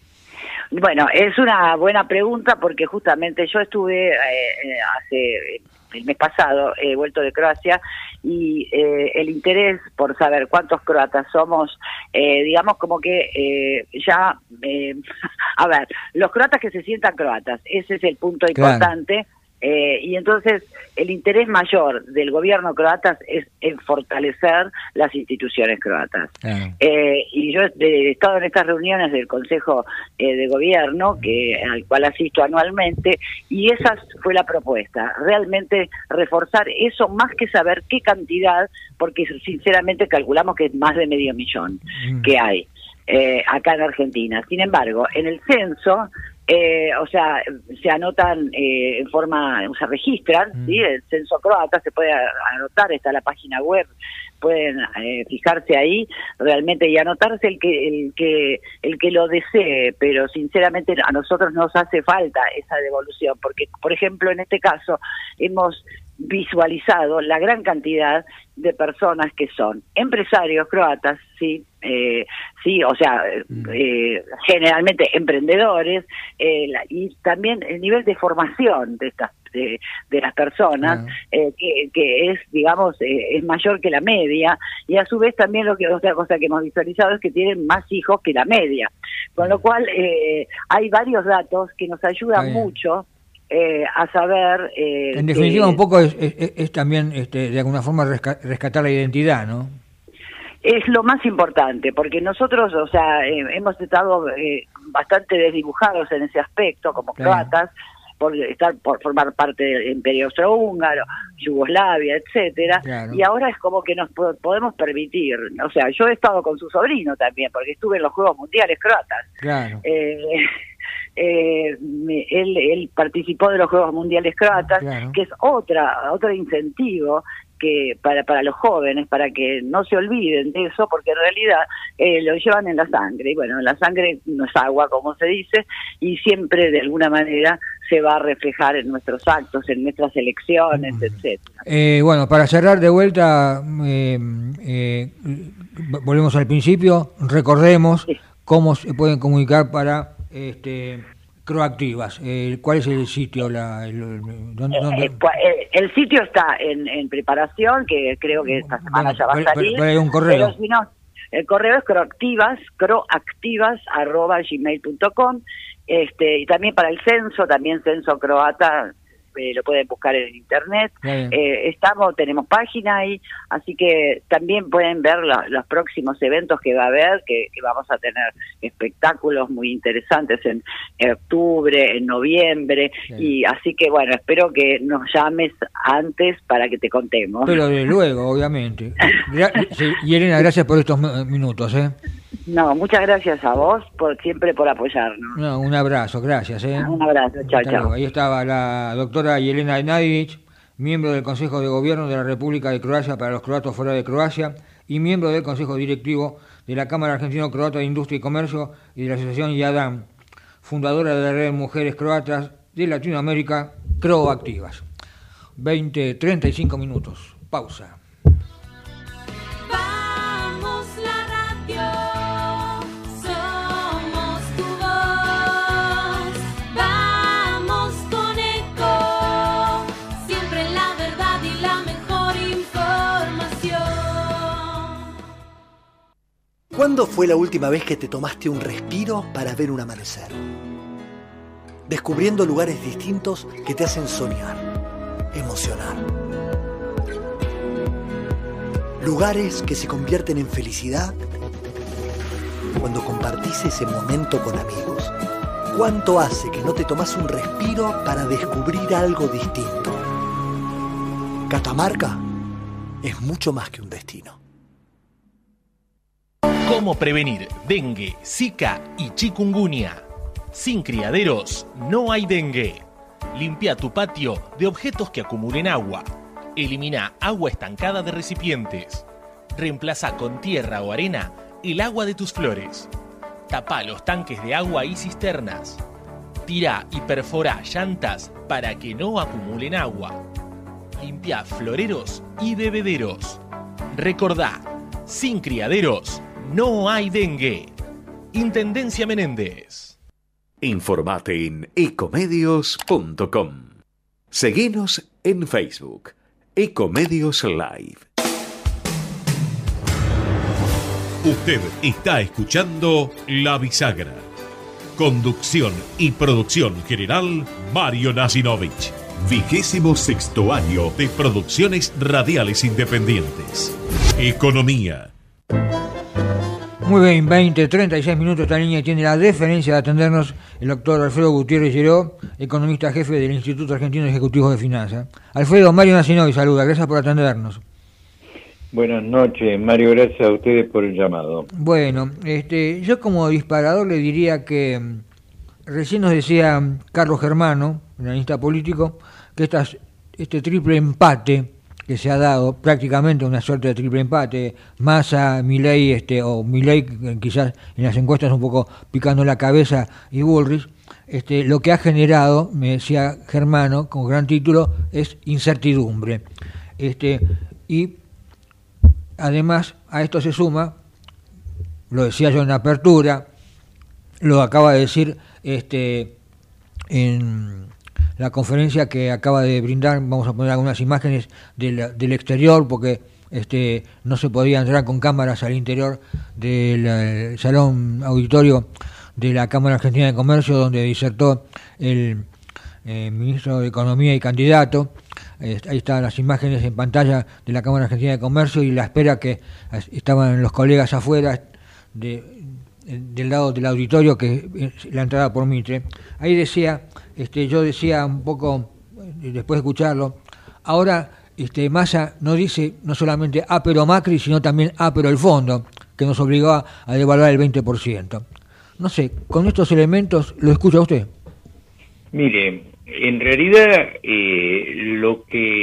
[SPEAKER 8] Bueno, es una buena pregunta porque justamente yo estuve eh, hace el mes pasado, he vuelto de Croacia y eh, el interés por saber cuántos croatas somos, eh, digamos como que eh, ya, eh, a ver, los croatas que se sientan croatas, ese es el punto importante. Claro. Eh, y entonces el interés mayor del gobierno croata es en fortalecer las instituciones croatas. Ah. Eh, y yo he estado en estas reuniones del Consejo eh, de Gobierno, que al cual asisto anualmente, y esa fue la propuesta, realmente reforzar eso más que saber qué cantidad, porque sinceramente calculamos que es más de medio millón mm. que hay eh, acá en Argentina. Sin embargo, en el censo... Eh, o sea, se anotan eh, en forma, se registran, mm. ¿sí? El censo croata se puede anotar, está la página web, pueden eh, fijarse ahí realmente y anotarse el que el que el que lo desee, pero sinceramente a nosotros nos hace falta esa devolución, porque por ejemplo en este caso hemos visualizado la gran cantidad de personas que son empresarios croatas, sí, eh, sí, o sea, eh, generalmente emprendedores, eh, la, y también el nivel de formación de estas de, de las personas, uh-huh. eh, que, que es, digamos, eh, es mayor que la media, y a su vez también lo que otra cosa que hemos visualizado es que tienen más hijos que la media, con lo cual eh, hay varios datos que nos ayudan uh-huh. mucho. Eh, a saber... Eh,
[SPEAKER 2] en definitiva, que, un poco es, es, es también, este, de alguna forma, resca- rescatar la identidad, ¿no?
[SPEAKER 8] Es lo más importante, porque nosotros, o sea, eh, hemos estado eh, bastante desdibujados en ese aspecto, como claro. croatas, por estar por formar parte del Imperio Austrohúngaro, Yugoslavia, etcétera, claro. y ahora es como que nos po- podemos permitir, o sea, yo he estado con su sobrino también, porque estuve en los Juegos Mundiales croatas. Claro. Eh, Eh, él, él participó de los Juegos Mundiales croatas, claro. que es otra otro incentivo que para para los jóvenes, para que no se olviden de eso, porque en realidad eh, lo llevan en la sangre, y bueno, la sangre no es agua, como se dice, y siempre de alguna manera se va a reflejar en nuestros actos, en nuestras elecciones, uh-huh. etcétera.
[SPEAKER 2] Eh, bueno, para cerrar de vuelta, eh, eh, volvemos al principio, recordemos sí. cómo se pueden comunicar para... Este, Croactivas, eh, ¿cuál es el sitio? La, el, ¿dónde, dónde?
[SPEAKER 8] Eh, eh, el sitio está en, en preparación, que creo que esta semana bueno, ya va a salir.
[SPEAKER 2] Pero, pero hay un correo.
[SPEAKER 8] Pero si no, el correo es croactivas, croactivas arroba gmail punto com, este, y también para el censo, también censo croata. Eh, lo pueden buscar en internet, eh, estamos, tenemos página ahí, así que también pueden ver la, los próximos eventos que va a haber, que, que vamos a tener espectáculos muy interesantes en, en octubre, en noviembre, bien. Y así que bueno, espero que nos llames antes para que te contemos.
[SPEAKER 2] Pero de luego, obviamente. Gra- y Elena, gracias por estos minutos, ¿eh?
[SPEAKER 8] No, muchas gracias a vos por siempre por apoyarnos.
[SPEAKER 2] No, un abrazo, gracias. ¿eh?
[SPEAKER 8] Un abrazo, chao, chao.
[SPEAKER 2] Ahí estaba la doctora Jelena Nadic, miembro del Consejo de Gobierno de la República de Croacia para los croatos fuera de Croacia y miembro del Consejo Directivo de la Cámara Argentino-Croata de Industria y Comercio y de la Asociación YADAM, fundadora de la Red de Mujeres Croatas de Latinoamérica, Croactivas. veinte, treinta y cinco minutos. Pausa.
[SPEAKER 9] ¿Cuándo fue la última vez que te tomaste un respiro para ver un amanecer? Descubriendo lugares distintos que te hacen soñar, emocionar. Lugares que se convierten en felicidad cuando compartís ese momento con amigos. ¿Cuánto hace que no te tomás un respiro para descubrir algo distinto? Catamarca es mucho más que un destino.
[SPEAKER 10] ¿Cómo prevenir dengue, zika y chikungunya? Sin criaderos no hay dengue. Limpia tu patio de objetos que acumulen agua. Elimina agua estancada de recipientes. Reemplaza con tierra o arena el agua de tus flores. Tapa los tanques de agua y cisternas. Tira y perfora llantas para que no acumulen agua. Limpia floreros y bebederos. Recordá, sin criaderos no hay dengue. Intendencia Menéndez.
[SPEAKER 11] Informate en ecomedios punto com. Seguinos en Facebook. Ecomedios Live.
[SPEAKER 1] Usted está escuchando La Bisagra. Conducción y producción general, Mario Nasinovich. Vigésimo sexto año de producciones radiales independientes. Economía.
[SPEAKER 2] Muy bien, veinte, treinta y seis minutos. Esta línea tiene la deferencia de atendernos el doctor Alfredo Gutiérrez Lleró, economista jefe del Instituto Argentino de Ejecutivos de Finanzas. Alfredo, Mario Nacinoy saluda, gracias por atendernos.
[SPEAKER 12] Buenas noches, Mario, gracias a ustedes por el llamado.
[SPEAKER 2] Bueno, este, yo como disparador le diría que recién nos decía Carlos Germano, analista político, que estas, este triple empate que se ha dado, prácticamente una suerte de triple empate, Massa, Milei, este, o Milei quizás en las encuestas un poco picando la cabeza, y Bullrich, este, lo que ha generado, me decía Germano, con gran título, es incertidumbre. Este, y además a esto se suma, lo decía yo en la apertura, lo acaba de decir este, en la conferencia que acaba de brindar, vamos a poner algunas imágenes del, del exterior, porque este, no se podía entrar con cámaras al interior del eh, salón auditorio de la Cámara Argentina de Comercio, donde disertó el eh, ministro de Economía y candidato. Eh, ahí están las imágenes en pantalla de la Cámara Argentina de Comercio y la espera que estaban los colegas afuera de, del lado del auditorio, que la entrada por Mitre. Ahí decía, este, yo decía un poco, después de escucharlo, ahora este, Massa no dice no solamente ah pero Macri, sino también ah pero el fondo, que nos obligó a, a devaluar el veinte por ciento. No sé, con estos elementos, ¿lo escucha usted?
[SPEAKER 12] Mire, en realidad eh, lo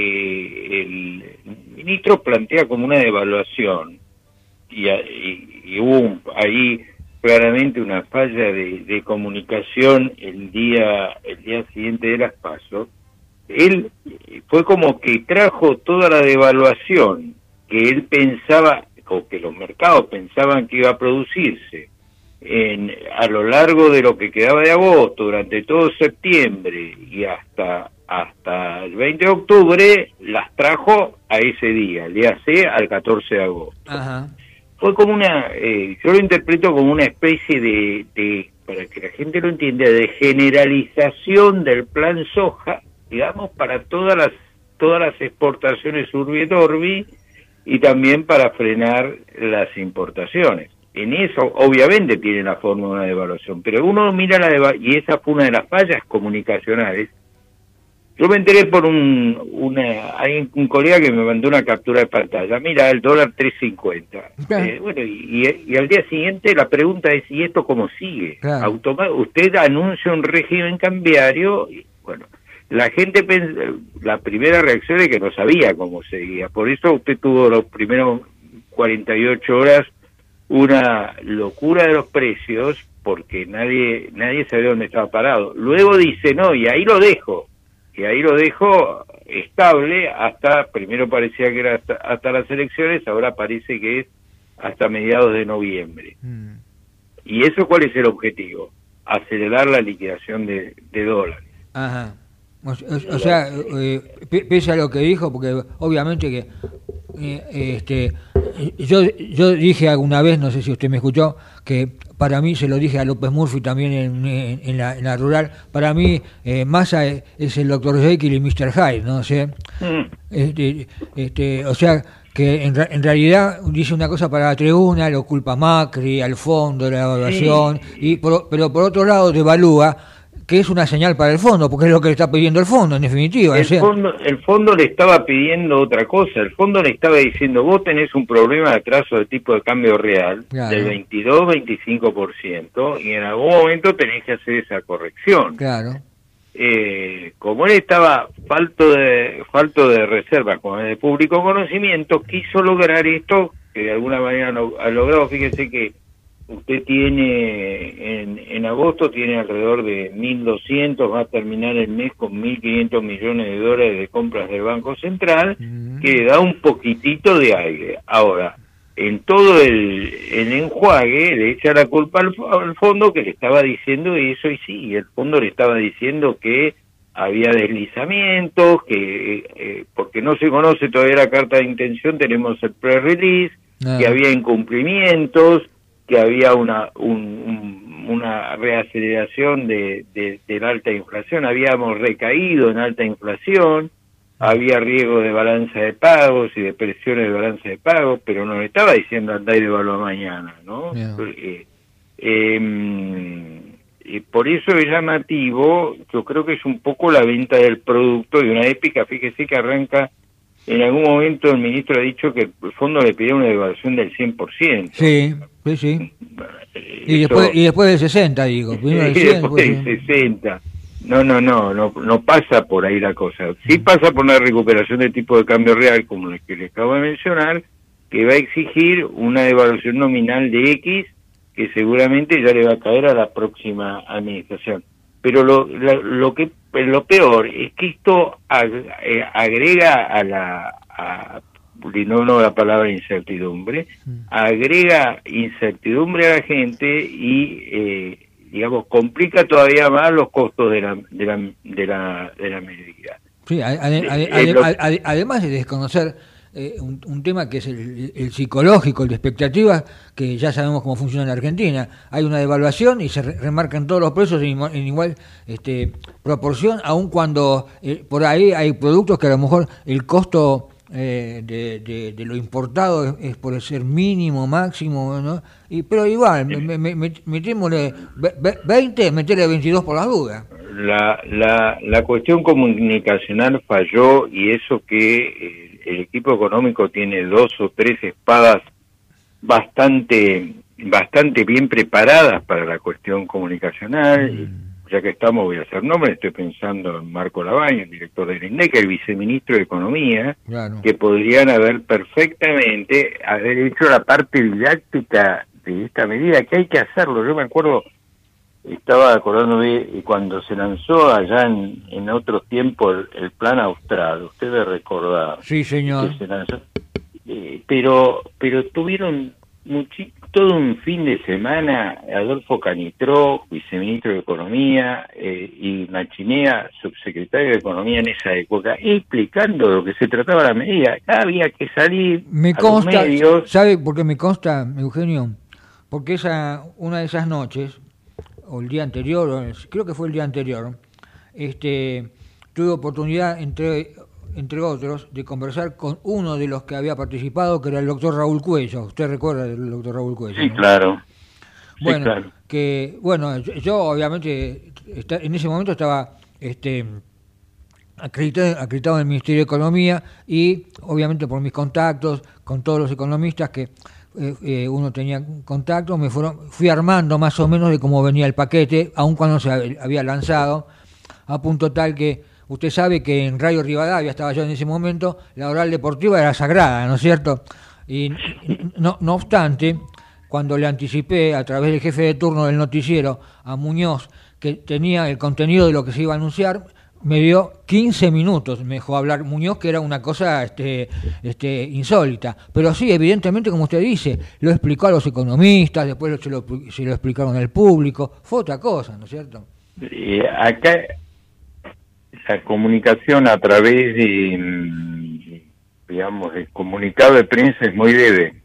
[SPEAKER 12] que el ministro plantea como una devaluación, y, y, y hubo un, ahí claramente una falla de, de comunicación el día el día siguiente de las PASO, él fue como que trajo toda la devaluación que él pensaba, o que los mercados pensaban que iba a producirse en a lo largo de lo que quedaba de agosto, durante todo septiembre y hasta hasta el veinte de octubre, las trajo a ese día, el día C al catorce de agosto.
[SPEAKER 2] Ajá.
[SPEAKER 12] Fue como una, eh, yo lo interpreto como una especie de, de, para que la gente lo entienda, de generalización del plan soja, digamos, para todas las todas las exportaciones urbi et orbi y también para frenar las importaciones. En eso, obviamente, tiene la forma de una devaluación, pero uno mira la devaluación, y esa fue una de las fallas comunicacionales. Yo me enteré por un una hay un colega que me mandó una captura de pantalla. Mira, el dólar tres cincuenta. Eh, bueno, y, y, y al día siguiente la pregunta es, ¿y esto cómo sigue? Claro. Automa- usted anuncia un régimen cambiario, y bueno, la gente, pens- la primera reacción es que no sabía cómo seguía. Por eso usted tuvo los primeros cuarenta y ocho horas una locura de los precios, porque nadie nadie sabía dónde estaba parado. Luego dice, no, y ahí lo dejo. Y ahí lo dejo estable hasta, primero parecía que era hasta, hasta las elecciones, ahora parece que es hasta mediados de noviembre. Mm. ¿Y eso cuál es el objetivo? Acelerar la liquidación de, de dólares.
[SPEAKER 2] Ajá. O, o, o sea, eh, pese a lo que dijo, porque obviamente que eh, este yo yo dije alguna vez, no sé si usted me escuchó, que para mí, se lo dije a López Murphy también en, en, en, la, en la rural, para mí eh, Massa es, es el doctor Jekyll y mister Hyde, ¿no? O sea, mm. este, este, o sea que en, en realidad dice una cosa para la tribuna, lo culpa Macri, al fondo, la evaluación, sí. y por, pero por otro lado devalúa, que es una señal para el fondo, porque es lo que le está pidiendo el fondo, en definitiva.
[SPEAKER 12] El,
[SPEAKER 2] o sea,
[SPEAKER 12] fondo, el fondo le estaba pidiendo otra cosa, el fondo le estaba diciendo, vos tenés un problema de atraso de tipo de cambio real, claro, del veintidós a veinticinco por ciento, y en algún momento tenés que hacer esa corrección.
[SPEAKER 2] Claro.
[SPEAKER 12] Eh, como él estaba falto de falto de reservas con el público conocimiento, quiso lograr esto, que de alguna manera no, ha logrado. Fíjese que usted tiene, en, en agosto tiene alrededor de mil doscientos, va a terminar el mes con mil quinientos millones de dólares de compras del Banco Central, mm. que le da un poquitito de aire. Ahora, en todo el, el enjuague le echa la culpa al, al fondo, que le estaba diciendo eso, y sí, el fondo le estaba diciendo que había deslizamientos, que eh, porque no se conoce todavía la carta de intención, tenemos el pre-release, ah. que había incumplimientos, que había una un, un una reaceleración de, de, de la alta inflación. Habíamos recaído en alta inflación, había riesgo de balanza de pagos y de presiones de balanza de pagos, pero no le estaba diciendo andá y devalúa mañana, ¿no? Yeah. Eh, eh, y por eso es llamativo, yo creo que es un poco la venta del producto de una épica, fíjese que arranca, en algún momento el ministro ha dicho que el fondo le pidió una devaluación del cien por ciento.
[SPEAKER 2] Sí, sí, sí. Y después, y después del sesenta, digo. Del cien,
[SPEAKER 12] y después del sesenta. No, no, no, no, no pasa por ahí la cosa. Sí pasa por una recuperación del tipo de cambio real, como el que les acabo de mencionar, que va a exigir una devaluación nominal de X, que seguramente ya le va a caer a la próxima administración. Pero lo, lo, lo que lo peor es que esto ag, eh, agrega a la, a, no, no la palabra incertidumbre, agrega incertidumbre a la gente y, eh, digamos, complica todavía más los costos de la, de la, de la, de la medida.
[SPEAKER 2] Sí, ade, ade, ade, lo, ade, además de desconocer eh, un, un tema que es el, el psicológico, el de expectativas, que ya sabemos cómo funciona en la Argentina. Hay una devaluación y se re, remarcan todos los precios en, en igual este, proporción, aun cuando eh, por ahí hay productos que a lo mejor el costo eh, de, de, de lo importado es, es por ser mínimo, máximo, ¿no? Y, pero igual, me, me, me, metémosle veinte, meterle veintidós por las dudas.
[SPEAKER 12] La, la, la cuestión comunicacional falló, y eso que eh, el equipo económico tiene dos o tres espadas bastante bastante bien preparadas para la cuestión comunicacional. Mm. Ya que estamos, voy a hacer nombres, estoy pensando en Marco Labaña, el director del INDEC, el viceministro de Economía, claro, que podrían haber perfectamente haber hecho la parte didáctica de esta medida, que hay que hacerlo. Yo me acuerdo, estaba acordándome cuando se lanzó allá en, en otros tiempos el, el plan austral, usted debe recordar.
[SPEAKER 2] Sí, señor.
[SPEAKER 12] Se lanzó, eh, pero pero tuvieron muchi, todo un fin de semana Adolfo Canitró, viceministro de Economía, eh, y Machinea, subsecretario de Economía en esa época, explicando de lo que se trataba la medida. Había que salir
[SPEAKER 2] me
[SPEAKER 12] a
[SPEAKER 2] consta,
[SPEAKER 12] los medios.
[SPEAKER 2] ¿Sabe por qué me consta, Eugenio? Porque esa una de esas noches, o el día anterior, creo que fue el día anterior, este, tuve oportunidad, entre entre otros, de conversar con uno de los que había participado, que era el doctor Raúl Cuello. ¿Usted recuerda del doctor Raúl Cuello?
[SPEAKER 12] Sí,
[SPEAKER 2] ¿no?
[SPEAKER 12] claro.
[SPEAKER 2] Bueno,
[SPEAKER 12] sí, claro.
[SPEAKER 2] que bueno, yo, yo obviamente está, en ese momento estaba este acreditado, acreditado en el Ministerio de Economía, y obviamente por mis contactos con todos los economistas que eh, eh, uno tenía contacto, me fueron, fui armando más o menos de cómo venía el paquete, aun cuando se había lanzado, a punto tal que usted sabe que en Radio Rivadavia, estaba yo en ese momento, la oral deportiva era sagrada, ¿no es cierto? Y no, no obstante, cuando le anticipé a través del jefe de turno del noticiero a Muñoz que tenía el contenido de lo que se iba a anunciar, me dio quince minutos, me dejó hablar Muñoz, que era una cosa este, este, insólita. Pero sí, evidentemente, como usted dice, lo explicó a los economistas, después se lo, se lo explicaron al público, fue otra cosa, ¿no es cierto?
[SPEAKER 12] Y acá la comunicación a través de, digamos, el comunicado de prensa es muy leve.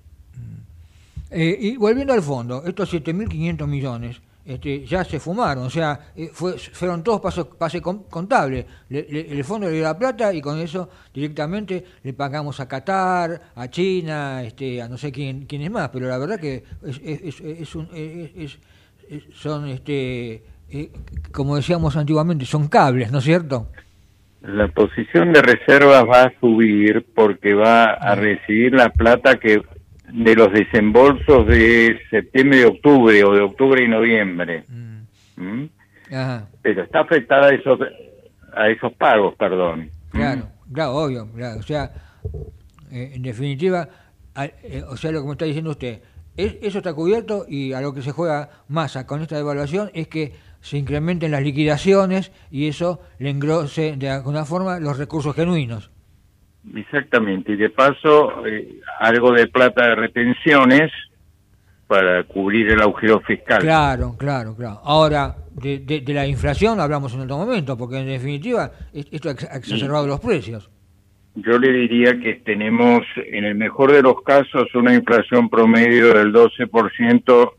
[SPEAKER 2] Eh, y volviendo al fondo, estos siete mil quinientos millones este, ya se fumaron, o sea, eh, fue, fueron todos pasos, pase contable. Le, le, el fondo le dio la plata y con eso directamente le pagamos a Qatar, a China, este, a no sé quién, quién es más, pero la verdad que es, es, es, es un, es, es, es, son este Eh, como decíamos antiguamente, son cables, ¿no es cierto?
[SPEAKER 12] La posición de reservas va a subir porque va a recibir la plata que de los desembolsos de septiembre y octubre, o de octubre y noviembre. Mm. ¿Mm? Ajá. Pero está afectada a esos, a esos pagos, perdón.
[SPEAKER 2] Claro, ¿Mm? claro, obvio. Claro. O sea, eh, en definitiva, a, eh, o sea, lo que me está diciendo usted, es, eso está cubierto, y a lo que se juega Massa con esta devaluación es que se incrementen las liquidaciones y eso le engrose de alguna forma los recursos genuinos.
[SPEAKER 12] Exactamente, y de paso eh, algo de plata de retenciones para cubrir el agujero fiscal.
[SPEAKER 2] Claro, claro, claro. Ahora, de, de, de la inflación hablamos en otro momento, porque en definitiva esto ha exacerbado sí. los precios.
[SPEAKER 12] Yo le diría que tenemos, en el mejor de los casos, una inflación promedio del doce por ciento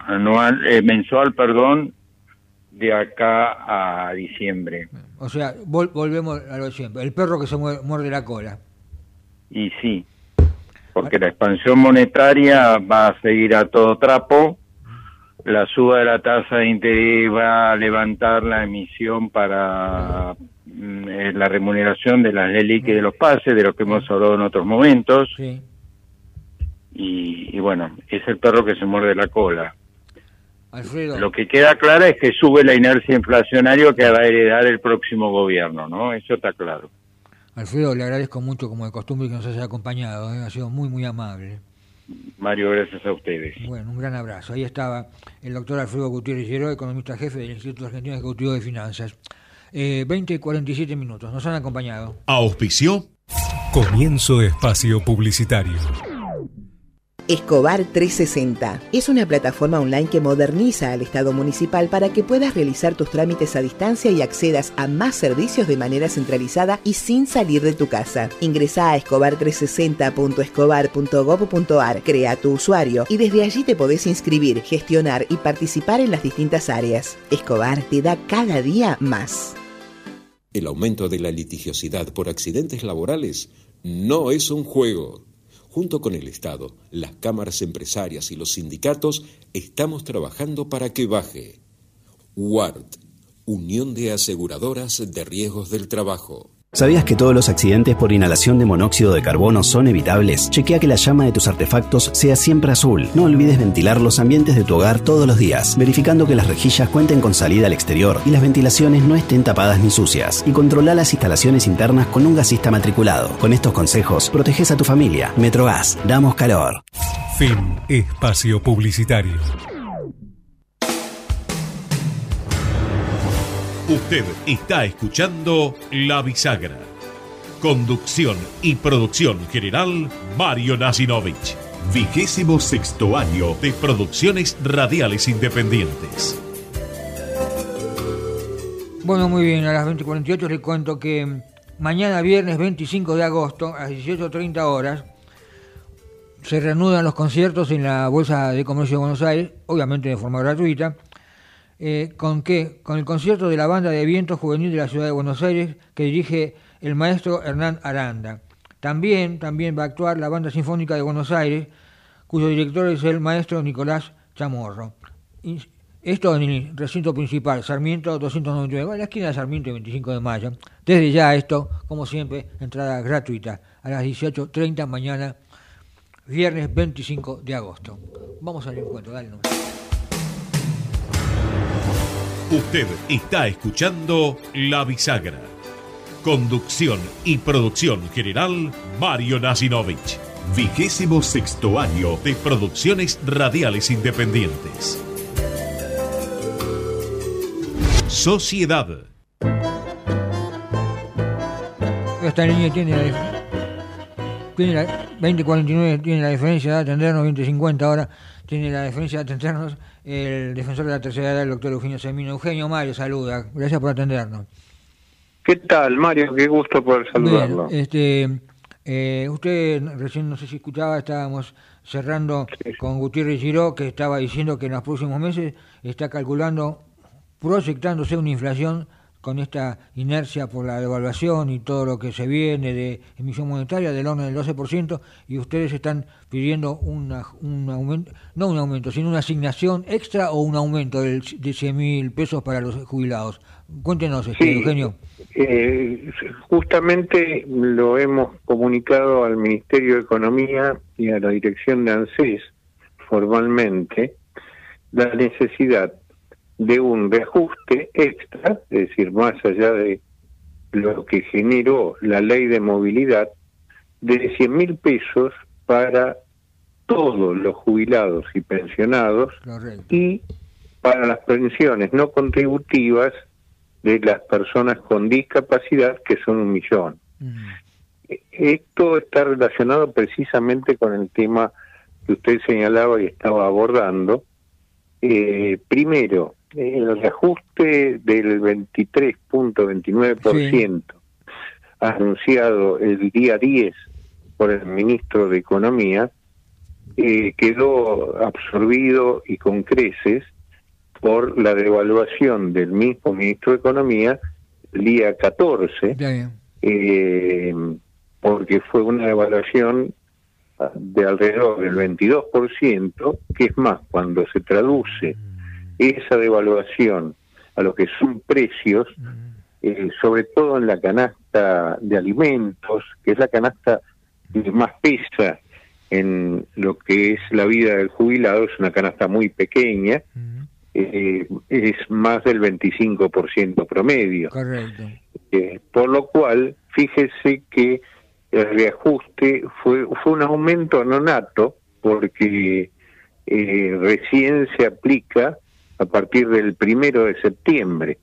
[SPEAKER 12] anual, eh, mensual, perdón, de acá a diciembre.
[SPEAKER 2] O sea, vol volvemos a lo de siempre. El perro que se muerde la cola.
[SPEAKER 12] Y sí, porque la expansión monetaria va a seguir a todo trapo. La suba de la tasa de interés va a levantar la emisión para eh, la remuneración de las Leliq y de los pases, de lo que hemos hablado en otros momentos.
[SPEAKER 2] Sí.
[SPEAKER 12] Y, y bueno, es el perro que se muerde la cola.
[SPEAKER 2] Alfredo.
[SPEAKER 12] Lo que queda claro es que sube la inercia inflacionaria que va a heredar el próximo gobierno, ¿no? Eso está claro.
[SPEAKER 2] Alfredo, le agradezco mucho, como de costumbre, que nos haya acompañado, ¿eh? Ha sido muy, muy amable.
[SPEAKER 12] Mario, gracias a ustedes.
[SPEAKER 2] Bueno, un gran abrazo. Ahí estaba el doctor Alfredo Gutiérrez Llero, economista jefe del Instituto Argentino Ejecutivo de Finanzas. Eh, veinte y cuarenta y siete minutos. Nos han acompañado.
[SPEAKER 1] ¿Auspició?
[SPEAKER 3] Comienzo espacio publicitario.
[SPEAKER 4] Escobar trescientos sesenta es una plataforma online que moderniza al Estado municipal para que puedas realizar tus trámites a distancia y accedas a más servicios de manera centralizada y sin salir de tu casa. Ingresá a escobar trescientos sesenta punto escobar punto gob punto ar, crea tu usuario y desde allí te podés inscribir, gestionar y participar en las distintas áreas. Escobar te da cada día más.
[SPEAKER 5] El aumento de la litigiosidad por accidentes laborales no es un juego. Junto con el Estado, las cámaras empresarias y los sindicatos, estamos trabajando para que baje. U A R T, Unión de Aseguradoras de Riesgos del Trabajo.
[SPEAKER 6] ¿Sabías que todos los accidentes por inhalación de monóxido de carbono son evitables? Chequea que la llama de tus artefactos sea siempre azul. No olvides ventilar los ambientes de tu hogar todos los días, verificando que las rejillas cuenten con salida al exterior y las ventilaciones no estén tapadas ni sucias. Y controla las instalaciones internas con un gasista matriculado. Con estos consejos, proteges a tu familia. Metrogas, damos calor.
[SPEAKER 3] Fin espacio publicitario.
[SPEAKER 1] Usted está escuchando La Bisagra. Conducción y producción general, Mario Nasinovich. Vigésimo sexto año de Producciones Radiales Independientes.
[SPEAKER 2] Bueno, muy bien, a las veinte cuarenta y ocho les cuento que mañana viernes veinticinco de agosto a las dieciocho treinta horas se reanudan los conciertos en la Bolsa de Comercio de Buenos Aires, obviamente de forma gratuita. Eh, ¿Con qué? Con el concierto de la Banda de Viento Juvenil de la Ciudad de Buenos Aires que dirige el maestro Hernán Aranda. También, también va a actuar la Banda Sinfónica de Buenos Aires, cuyo director es el maestro Nicolás Chamorro. Y esto en el recinto principal, Sarmiento doscientos noventa y nueve, en la esquina de Sarmiento y veinticinco de mayo. Desde ya esto, como siempre, entrada gratuita a las dieciocho treinta mañana, viernes veinticinco de agosto. Vamos al encuentro, dale nomás.
[SPEAKER 1] Usted está escuchando La Bisagra. Conducción y producción general, Mario Nasinovich. Vigésimo sexto año de Producciones Radiales Independientes. Sociedad.
[SPEAKER 2] Esta niña tiene la, tiene la veinte cuarenta y nueve, tiene la diferencia de atendernos, veinte cincuenta ahora, tiene la diferencia de atendernos el defensor de la tercera edad, el doctor Eugenio Semino. Eugenio, Mario, saluda. Gracias por atendernos.
[SPEAKER 13] ¿Qué tal, Mario? Qué gusto poder saludarlo.
[SPEAKER 2] Bien, este, eh, usted recién, no sé si escuchaba, estábamos cerrando sí. con Gutiérrez Giró, que estaba diciendo que en los próximos meses está calculando, proyectándose una inflación con esta inercia por la devaluación y todo lo que se viene de emisión monetaria del orden del doce por ciento, y ustedes están pidiendo una, un aumento, no un aumento, sino una asignación extra o un aumento de, de cien mil pesos para los jubilados. Cuéntenos, este,
[SPEAKER 13] sí,
[SPEAKER 2] Eugenio.
[SPEAKER 13] Eh, justamente lo hemos comunicado al Ministerio de Economía y a la dirección de ANSES formalmente, la necesidad de un reajuste extra, es decir, más allá de lo que generó la ley de movilidad, de cien mil pesos para todos los jubilados y pensionados. Correcto. Y para las pensiones no contributivas de las personas con discapacidad, que son un millón. Mm. Esto está relacionado precisamente con el tema que usted señalaba y estaba abordando. Eh, primero, el reajuste del veintitrés punto veintinueve por ciento sí. anunciado el día diez por el ministro de Economía eh, quedó absorbido y con creces por la devaluación del mismo ministro de Economía el día catorce, eh, porque fue una devaluación de alrededor del veintidós por ciento, que es más, cuando se traduce esa devaluación a lo que son precios, eh, sobre todo en la canasta de alimentos, que es la canasta que más pesa en lo que es la vida del jubilado, es una canasta muy pequeña, eh, es más del veinticinco por ciento promedio.
[SPEAKER 2] Correcto.
[SPEAKER 13] Eh, por lo cual, fíjese que el reajuste fue fue un aumento nonato, porque eh, recién se aplica a partir del primero de septiembre.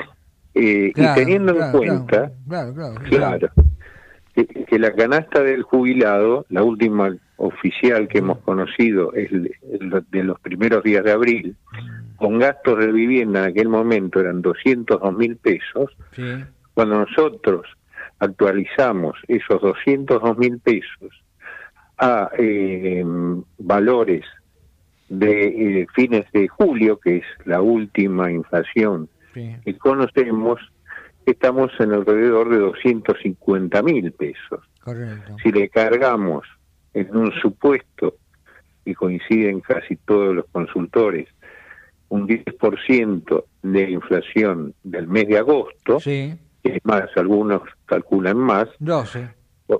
[SPEAKER 13] Eh,
[SPEAKER 2] Claro,
[SPEAKER 13] y teniendo
[SPEAKER 2] claro,
[SPEAKER 13] en cuenta,
[SPEAKER 2] Claro, claro.
[SPEAKER 13] claro, que, que la canasta del jubilado, la última oficial que hemos conocido es el- el de los primeros días de abril, con gastos de vivienda en aquel momento eran doscientos dos mil pesos.
[SPEAKER 2] Sí.
[SPEAKER 13] Cuando nosotros actualizamos esos doscientos dos mil pesos a eh, valores de eh, fines de julio, que es la última inflación
[SPEAKER 2] Sí.
[SPEAKER 13] que conocemos, estamos en alrededor de doscientos cincuenta mil pesos.
[SPEAKER 2] Correcto.
[SPEAKER 13] Si le cargamos en un supuesto, y coinciden casi todos los consultores, un diez por ciento de inflación del mes de agosto,
[SPEAKER 2] Sí.
[SPEAKER 13] es más, algunos calculan más,
[SPEAKER 2] doce.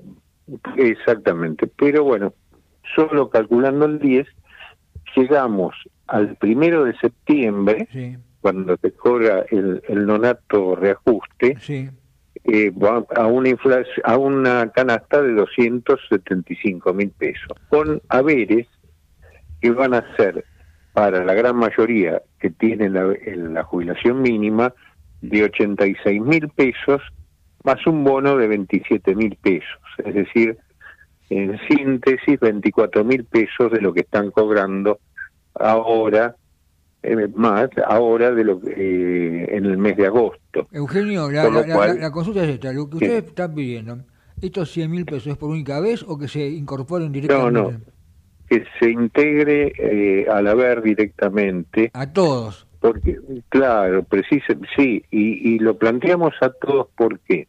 [SPEAKER 13] exactamente, pero bueno, solo calculando el diez, llegamos al primero de septiembre,
[SPEAKER 2] Sí.
[SPEAKER 13] cuando se cobra el, el nonato reajuste,
[SPEAKER 2] Sí.
[SPEAKER 13] eh, va a una inflación, a una canasta de doscientos setenta y cinco mil pesos, con haberes que van a ser, para la gran mayoría que tienen la, en la jubilación mínima, de ochenta y seis mil pesos, más un bono de veintisiete mil pesos, es decir, en síntesis, veinticuatro mil pesos de lo que están cobrando ahora, eh, más ahora de lo que eh, en el mes de agosto.
[SPEAKER 2] Eugenio, la,
[SPEAKER 13] Con lo
[SPEAKER 2] la- la-
[SPEAKER 13] cual-
[SPEAKER 2] la consulta es esta. Lo que
[SPEAKER 13] Sí.
[SPEAKER 2] ustedes están pidiendo, ¿estos cien mil pesos es por única vez o que se incorporen
[SPEAKER 13] No,
[SPEAKER 2] directamente?
[SPEAKER 13] no, que se integre eh, al haber directamente.
[SPEAKER 2] A todos.
[SPEAKER 13] Porque, claro, precisa, sí, y, y lo planteamos a todos, ¿por qué?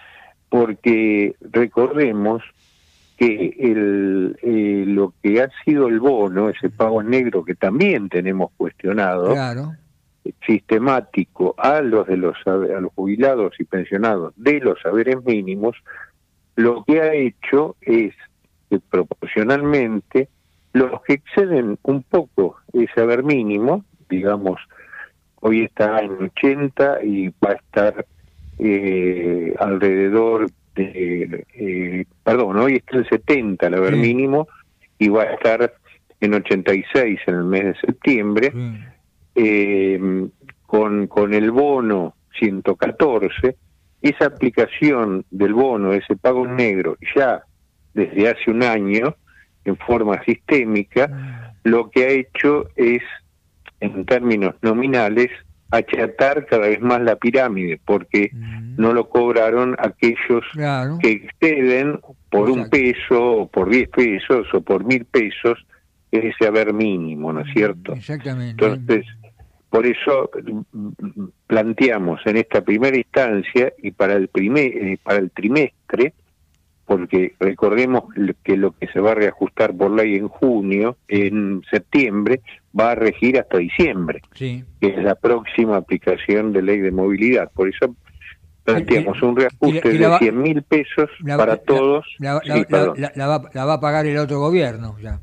[SPEAKER 13] Porque recordemos que el, eh, lo que ha sido el bono, ese pago en negro que también tenemos cuestionado,
[SPEAKER 2] Claro.
[SPEAKER 13] sistemático a los de los a los jubilados y pensionados de los saberes mínimos, lo que ha hecho es que proporcionalmente los que exceden un poco ese haber mínimo, digamos, hoy está en ochenta y va a estar eh, alrededor de, eh, perdón, hoy está en setenta el haber
[SPEAKER 2] Sí.
[SPEAKER 13] mínimo y va a estar en ochenta y seis en el mes de septiembre,
[SPEAKER 2] Sí.
[SPEAKER 13] eh, con, con el bono ciento catorce, esa aplicación del bono, ese pago en negro, ya desde hace un año, en forma sistémica, lo que ha hecho es, en términos nominales, achatar cada vez más la pirámide, porque no lo cobraron aquellos
[SPEAKER 2] Claro.
[SPEAKER 13] que exceden por un peso, o por diez pesos, o por mil pesos, ese haber mínimo, ¿no es cierto?
[SPEAKER 2] Exactamente.
[SPEAKER 13] Entonces, por eso mm, planteamos en esta primera instancia y para el primer eh, para el trimestre, porque recordemos que lo que se va a reajustar por ley en junio, en septiembre, va a regir hasta diciembre,
[SPEAKER 2] Sí.
[SPEAKER 13] que es la próxima aplicación de ley de movilidad. Por eso planteamos un reajuste
[SPEAKER 2] y la
[SPEAKER 13] de
[SPEAKER 2] va-
[SPEAKER 13] cien mil pesos
[SPEAKER 2] La-
[SPEAKER 13] para
[SPEAKER 2] la-
[SPEAKER 13] todos.
[SPEAKER 2] La,
[SPEAKER 13] Sí,
[SPEAKER 2] la- la-
[SPEAKER 13] perdón.
[SPEAKER 2] la- la va, la va a pagar el otro gobierno ya.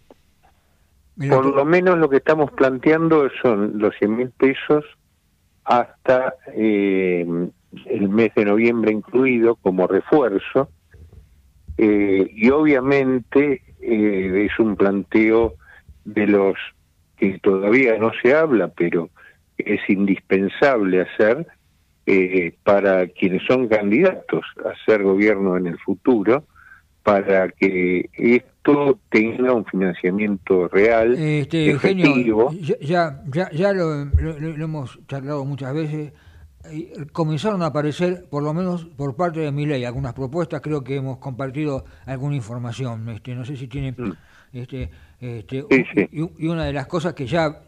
[SPEAKER 2] El
[SPEAKER 13] Por
[SPEAKER 2] otro-
[SPEAKER 13] lo menos lo que estamos planteando son los cien mil pesos hasta eh, el mes de noviembre incluido como refuerzo, eh, y obviamente eh, es un planteo de los que todavía no se habla, pero es indispensable hacer eh, para quienes son candidatos a ser gobierno en el futuro, para que esto tenga un financiamiento real,
[SPEAKER 2] Este,
[SPEAKER 13] efectivo.
[SPEAKER 2] Eugenio, ya, ya, ya lo, lo- lo hemos charlado muchas veces. eh, Comenzaron a aparecer, por lo menos por parte de Milei, algunas propuestas. Creo que hemos compartido alguna información. Este, no sé si tiene Este, este,
[SPEAKER 13] Sí, sí.
[SPEAKER 2] Y, y una de las cosas que ya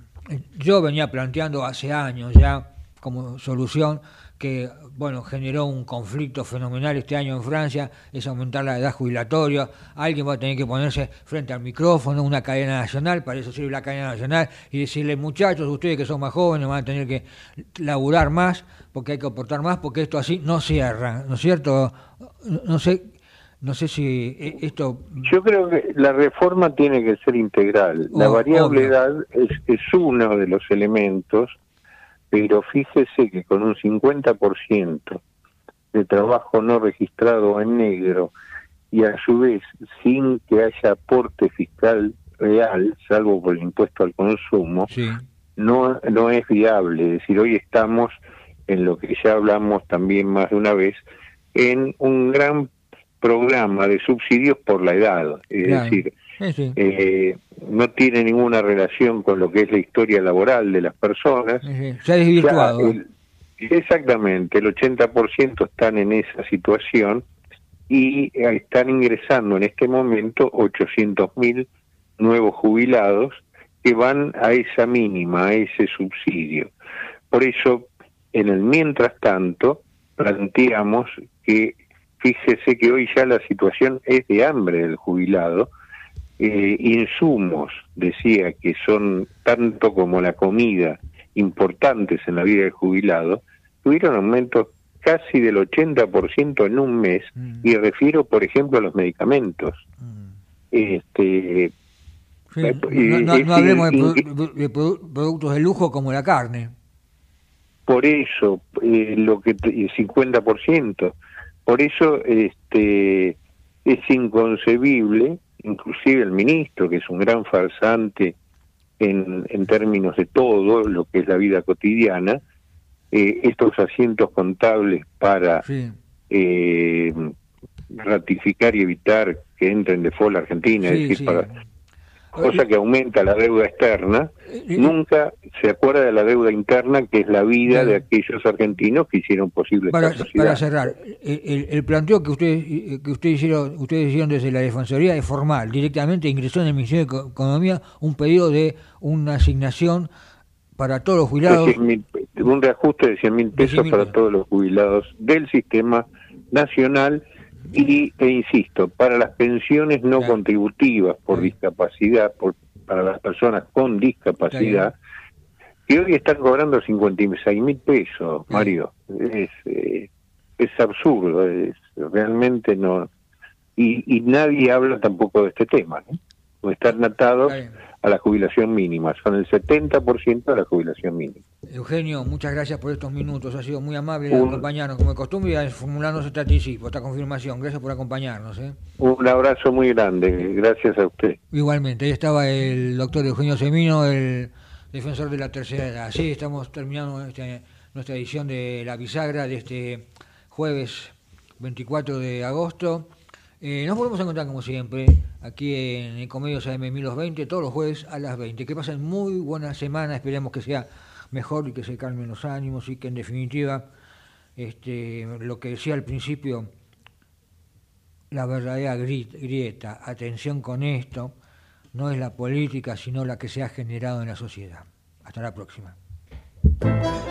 [SPEAKER 2] yo venía planteando hace años ya como solución, que bueno generó un conflicto fenomenal este año en Francia, es aumentar la edad jubilatoria. Alguien va a tener que ponerse frente al micrófono, una cadena nacional, para eso sirve la cadena nacional, y decirle, muchachos, ustedes que son más jóvenes van a tener que laburar más, porque hay que aportar más, porque esto así no cierra, ¿no es cierto? No sé, no sé si esto...
[SPEAKER 13] Yo creo que la reforma tiene que ser integral. La
[SPEAKER 2] Oh,
[SPEAKER 13] variable
[SPEAKER 2] obvio.
[SPEAKER 13] edad es, es uno de los elementos, pero fíjese que con un cincuenta por ciento de trabajo no registrado en negro y a su vez sin que haya aporte fiscal real, salvo por el impuesto al consumo,
[SPEAKER 2] sí.
[SPEAKER 13] no, no es viable. Es decir, hoy estamos en lo que ya hablamos también más de una vez, en un gran programa de subsidios por la edad. Es
[SPEAKER 2] Claro.
[SPEAKER 13] decir,
[SPEAKER 2] Sí, sí.
[SPEAKER 13] eh, no tiene ninguna relación con lo que es la historia laboral de las personas.
[SPEAKER 2] Sí, sí. Se ha desvirtuado.
[SPEAKER 13] Ya el- exactamente, el ochenta por ciento están en esa situación y eh, están ingresando en este momento ochocientos mil nuevos jubilados que van a esa mínima, a ese subsidio. Por eso, en el mientras tanto, planteamos que, fíjese que hoy ya la situación es de hambre del jubilado. Eh, insumos, decía, que son tanto como la comida importantes en la vida del jubilado, tuvieron aumentos casi del ochenta por ciento en un mes, mm. y refiero, por ejemplo, a los medicamentos. Mm. Este,
[SPEAKER 2] sí, eh, no, no, no hablemos de, produ de produ productos de lujo como la carne.
[SPEAKER 13] Por eso, eh, lo que el cincuenta por ciento. Por eso este, es inconcebible. Inclusive el ministro, que es un gran farsante en, en términos de todo lo que es la vida cotidiana, eh, estos asientos contables para sí. eh, ratificar y evitar que entre en default la Argentina, sí, es decir, sí. para cosa que aumenta la deuda externa, eh, nunca se acuerda de la deuda interna, que es la vida eh, de aquellos argentinos que hicieron posible
[SPEAKER 2] para,
[SPEAKER 13] esta sociedad.
[SPEAKER 2] Para cerrar, el, el planteo que ustedes que ustedes hicieron, ustedes hicieron desde la Defensoría es formal, directamente ingresó en el Ministerio de Economía un pedido de una asignación para todos los jubilados.
[SPEAKER 13] cien, un reajuste de cien mil pesos para pesos. todos los jubilados del sistema nacional. Y, e insisto, para las pensiones no claro. contributivas por sí. discapacidad, por, para las personas con discapacidad, que hoy están cobrando cincuenta y seis mil pesos, sí. Mario. Es, eh, es absurdo, es, realmente no. Y, y nadie habla tampoco de este tema, ¿no? O están atados a la jubilación mínima, son el setenta por ciento de la jubilación mínima.
[SPEAKER 2] Eugenio, muchas gracias por estos minutos, ha sido muy amable Un... acompañarnos como de costumbre y a formularnos este anticipo, esta confirmación. Gracias por acompañarnos. ¿eh?
[SPEAKER 13] Un abrazo muy grande, gracias a usted.
[SPEAKER 2] Igualmente, ahí estaba el doctor Eugenio Semino, el defensor de la tercera edad. Sí, estamos terminando este, nuestra edición de La Bisagra de este jueves veinticuatro de agosto. Eh, nos volvemos a encontrar como siempre aquí en Ecomedios A M mil veinte todos los jueves a las veinte. Que pasen muy buena semana, esperemos que sea mejor y que se calmen los ánimos y que en definitiva este, lo que decía al principio, la verdadera grieta, atención con esto, no es la política sino la que se ha generado en la sociedad. Hasta la próxima.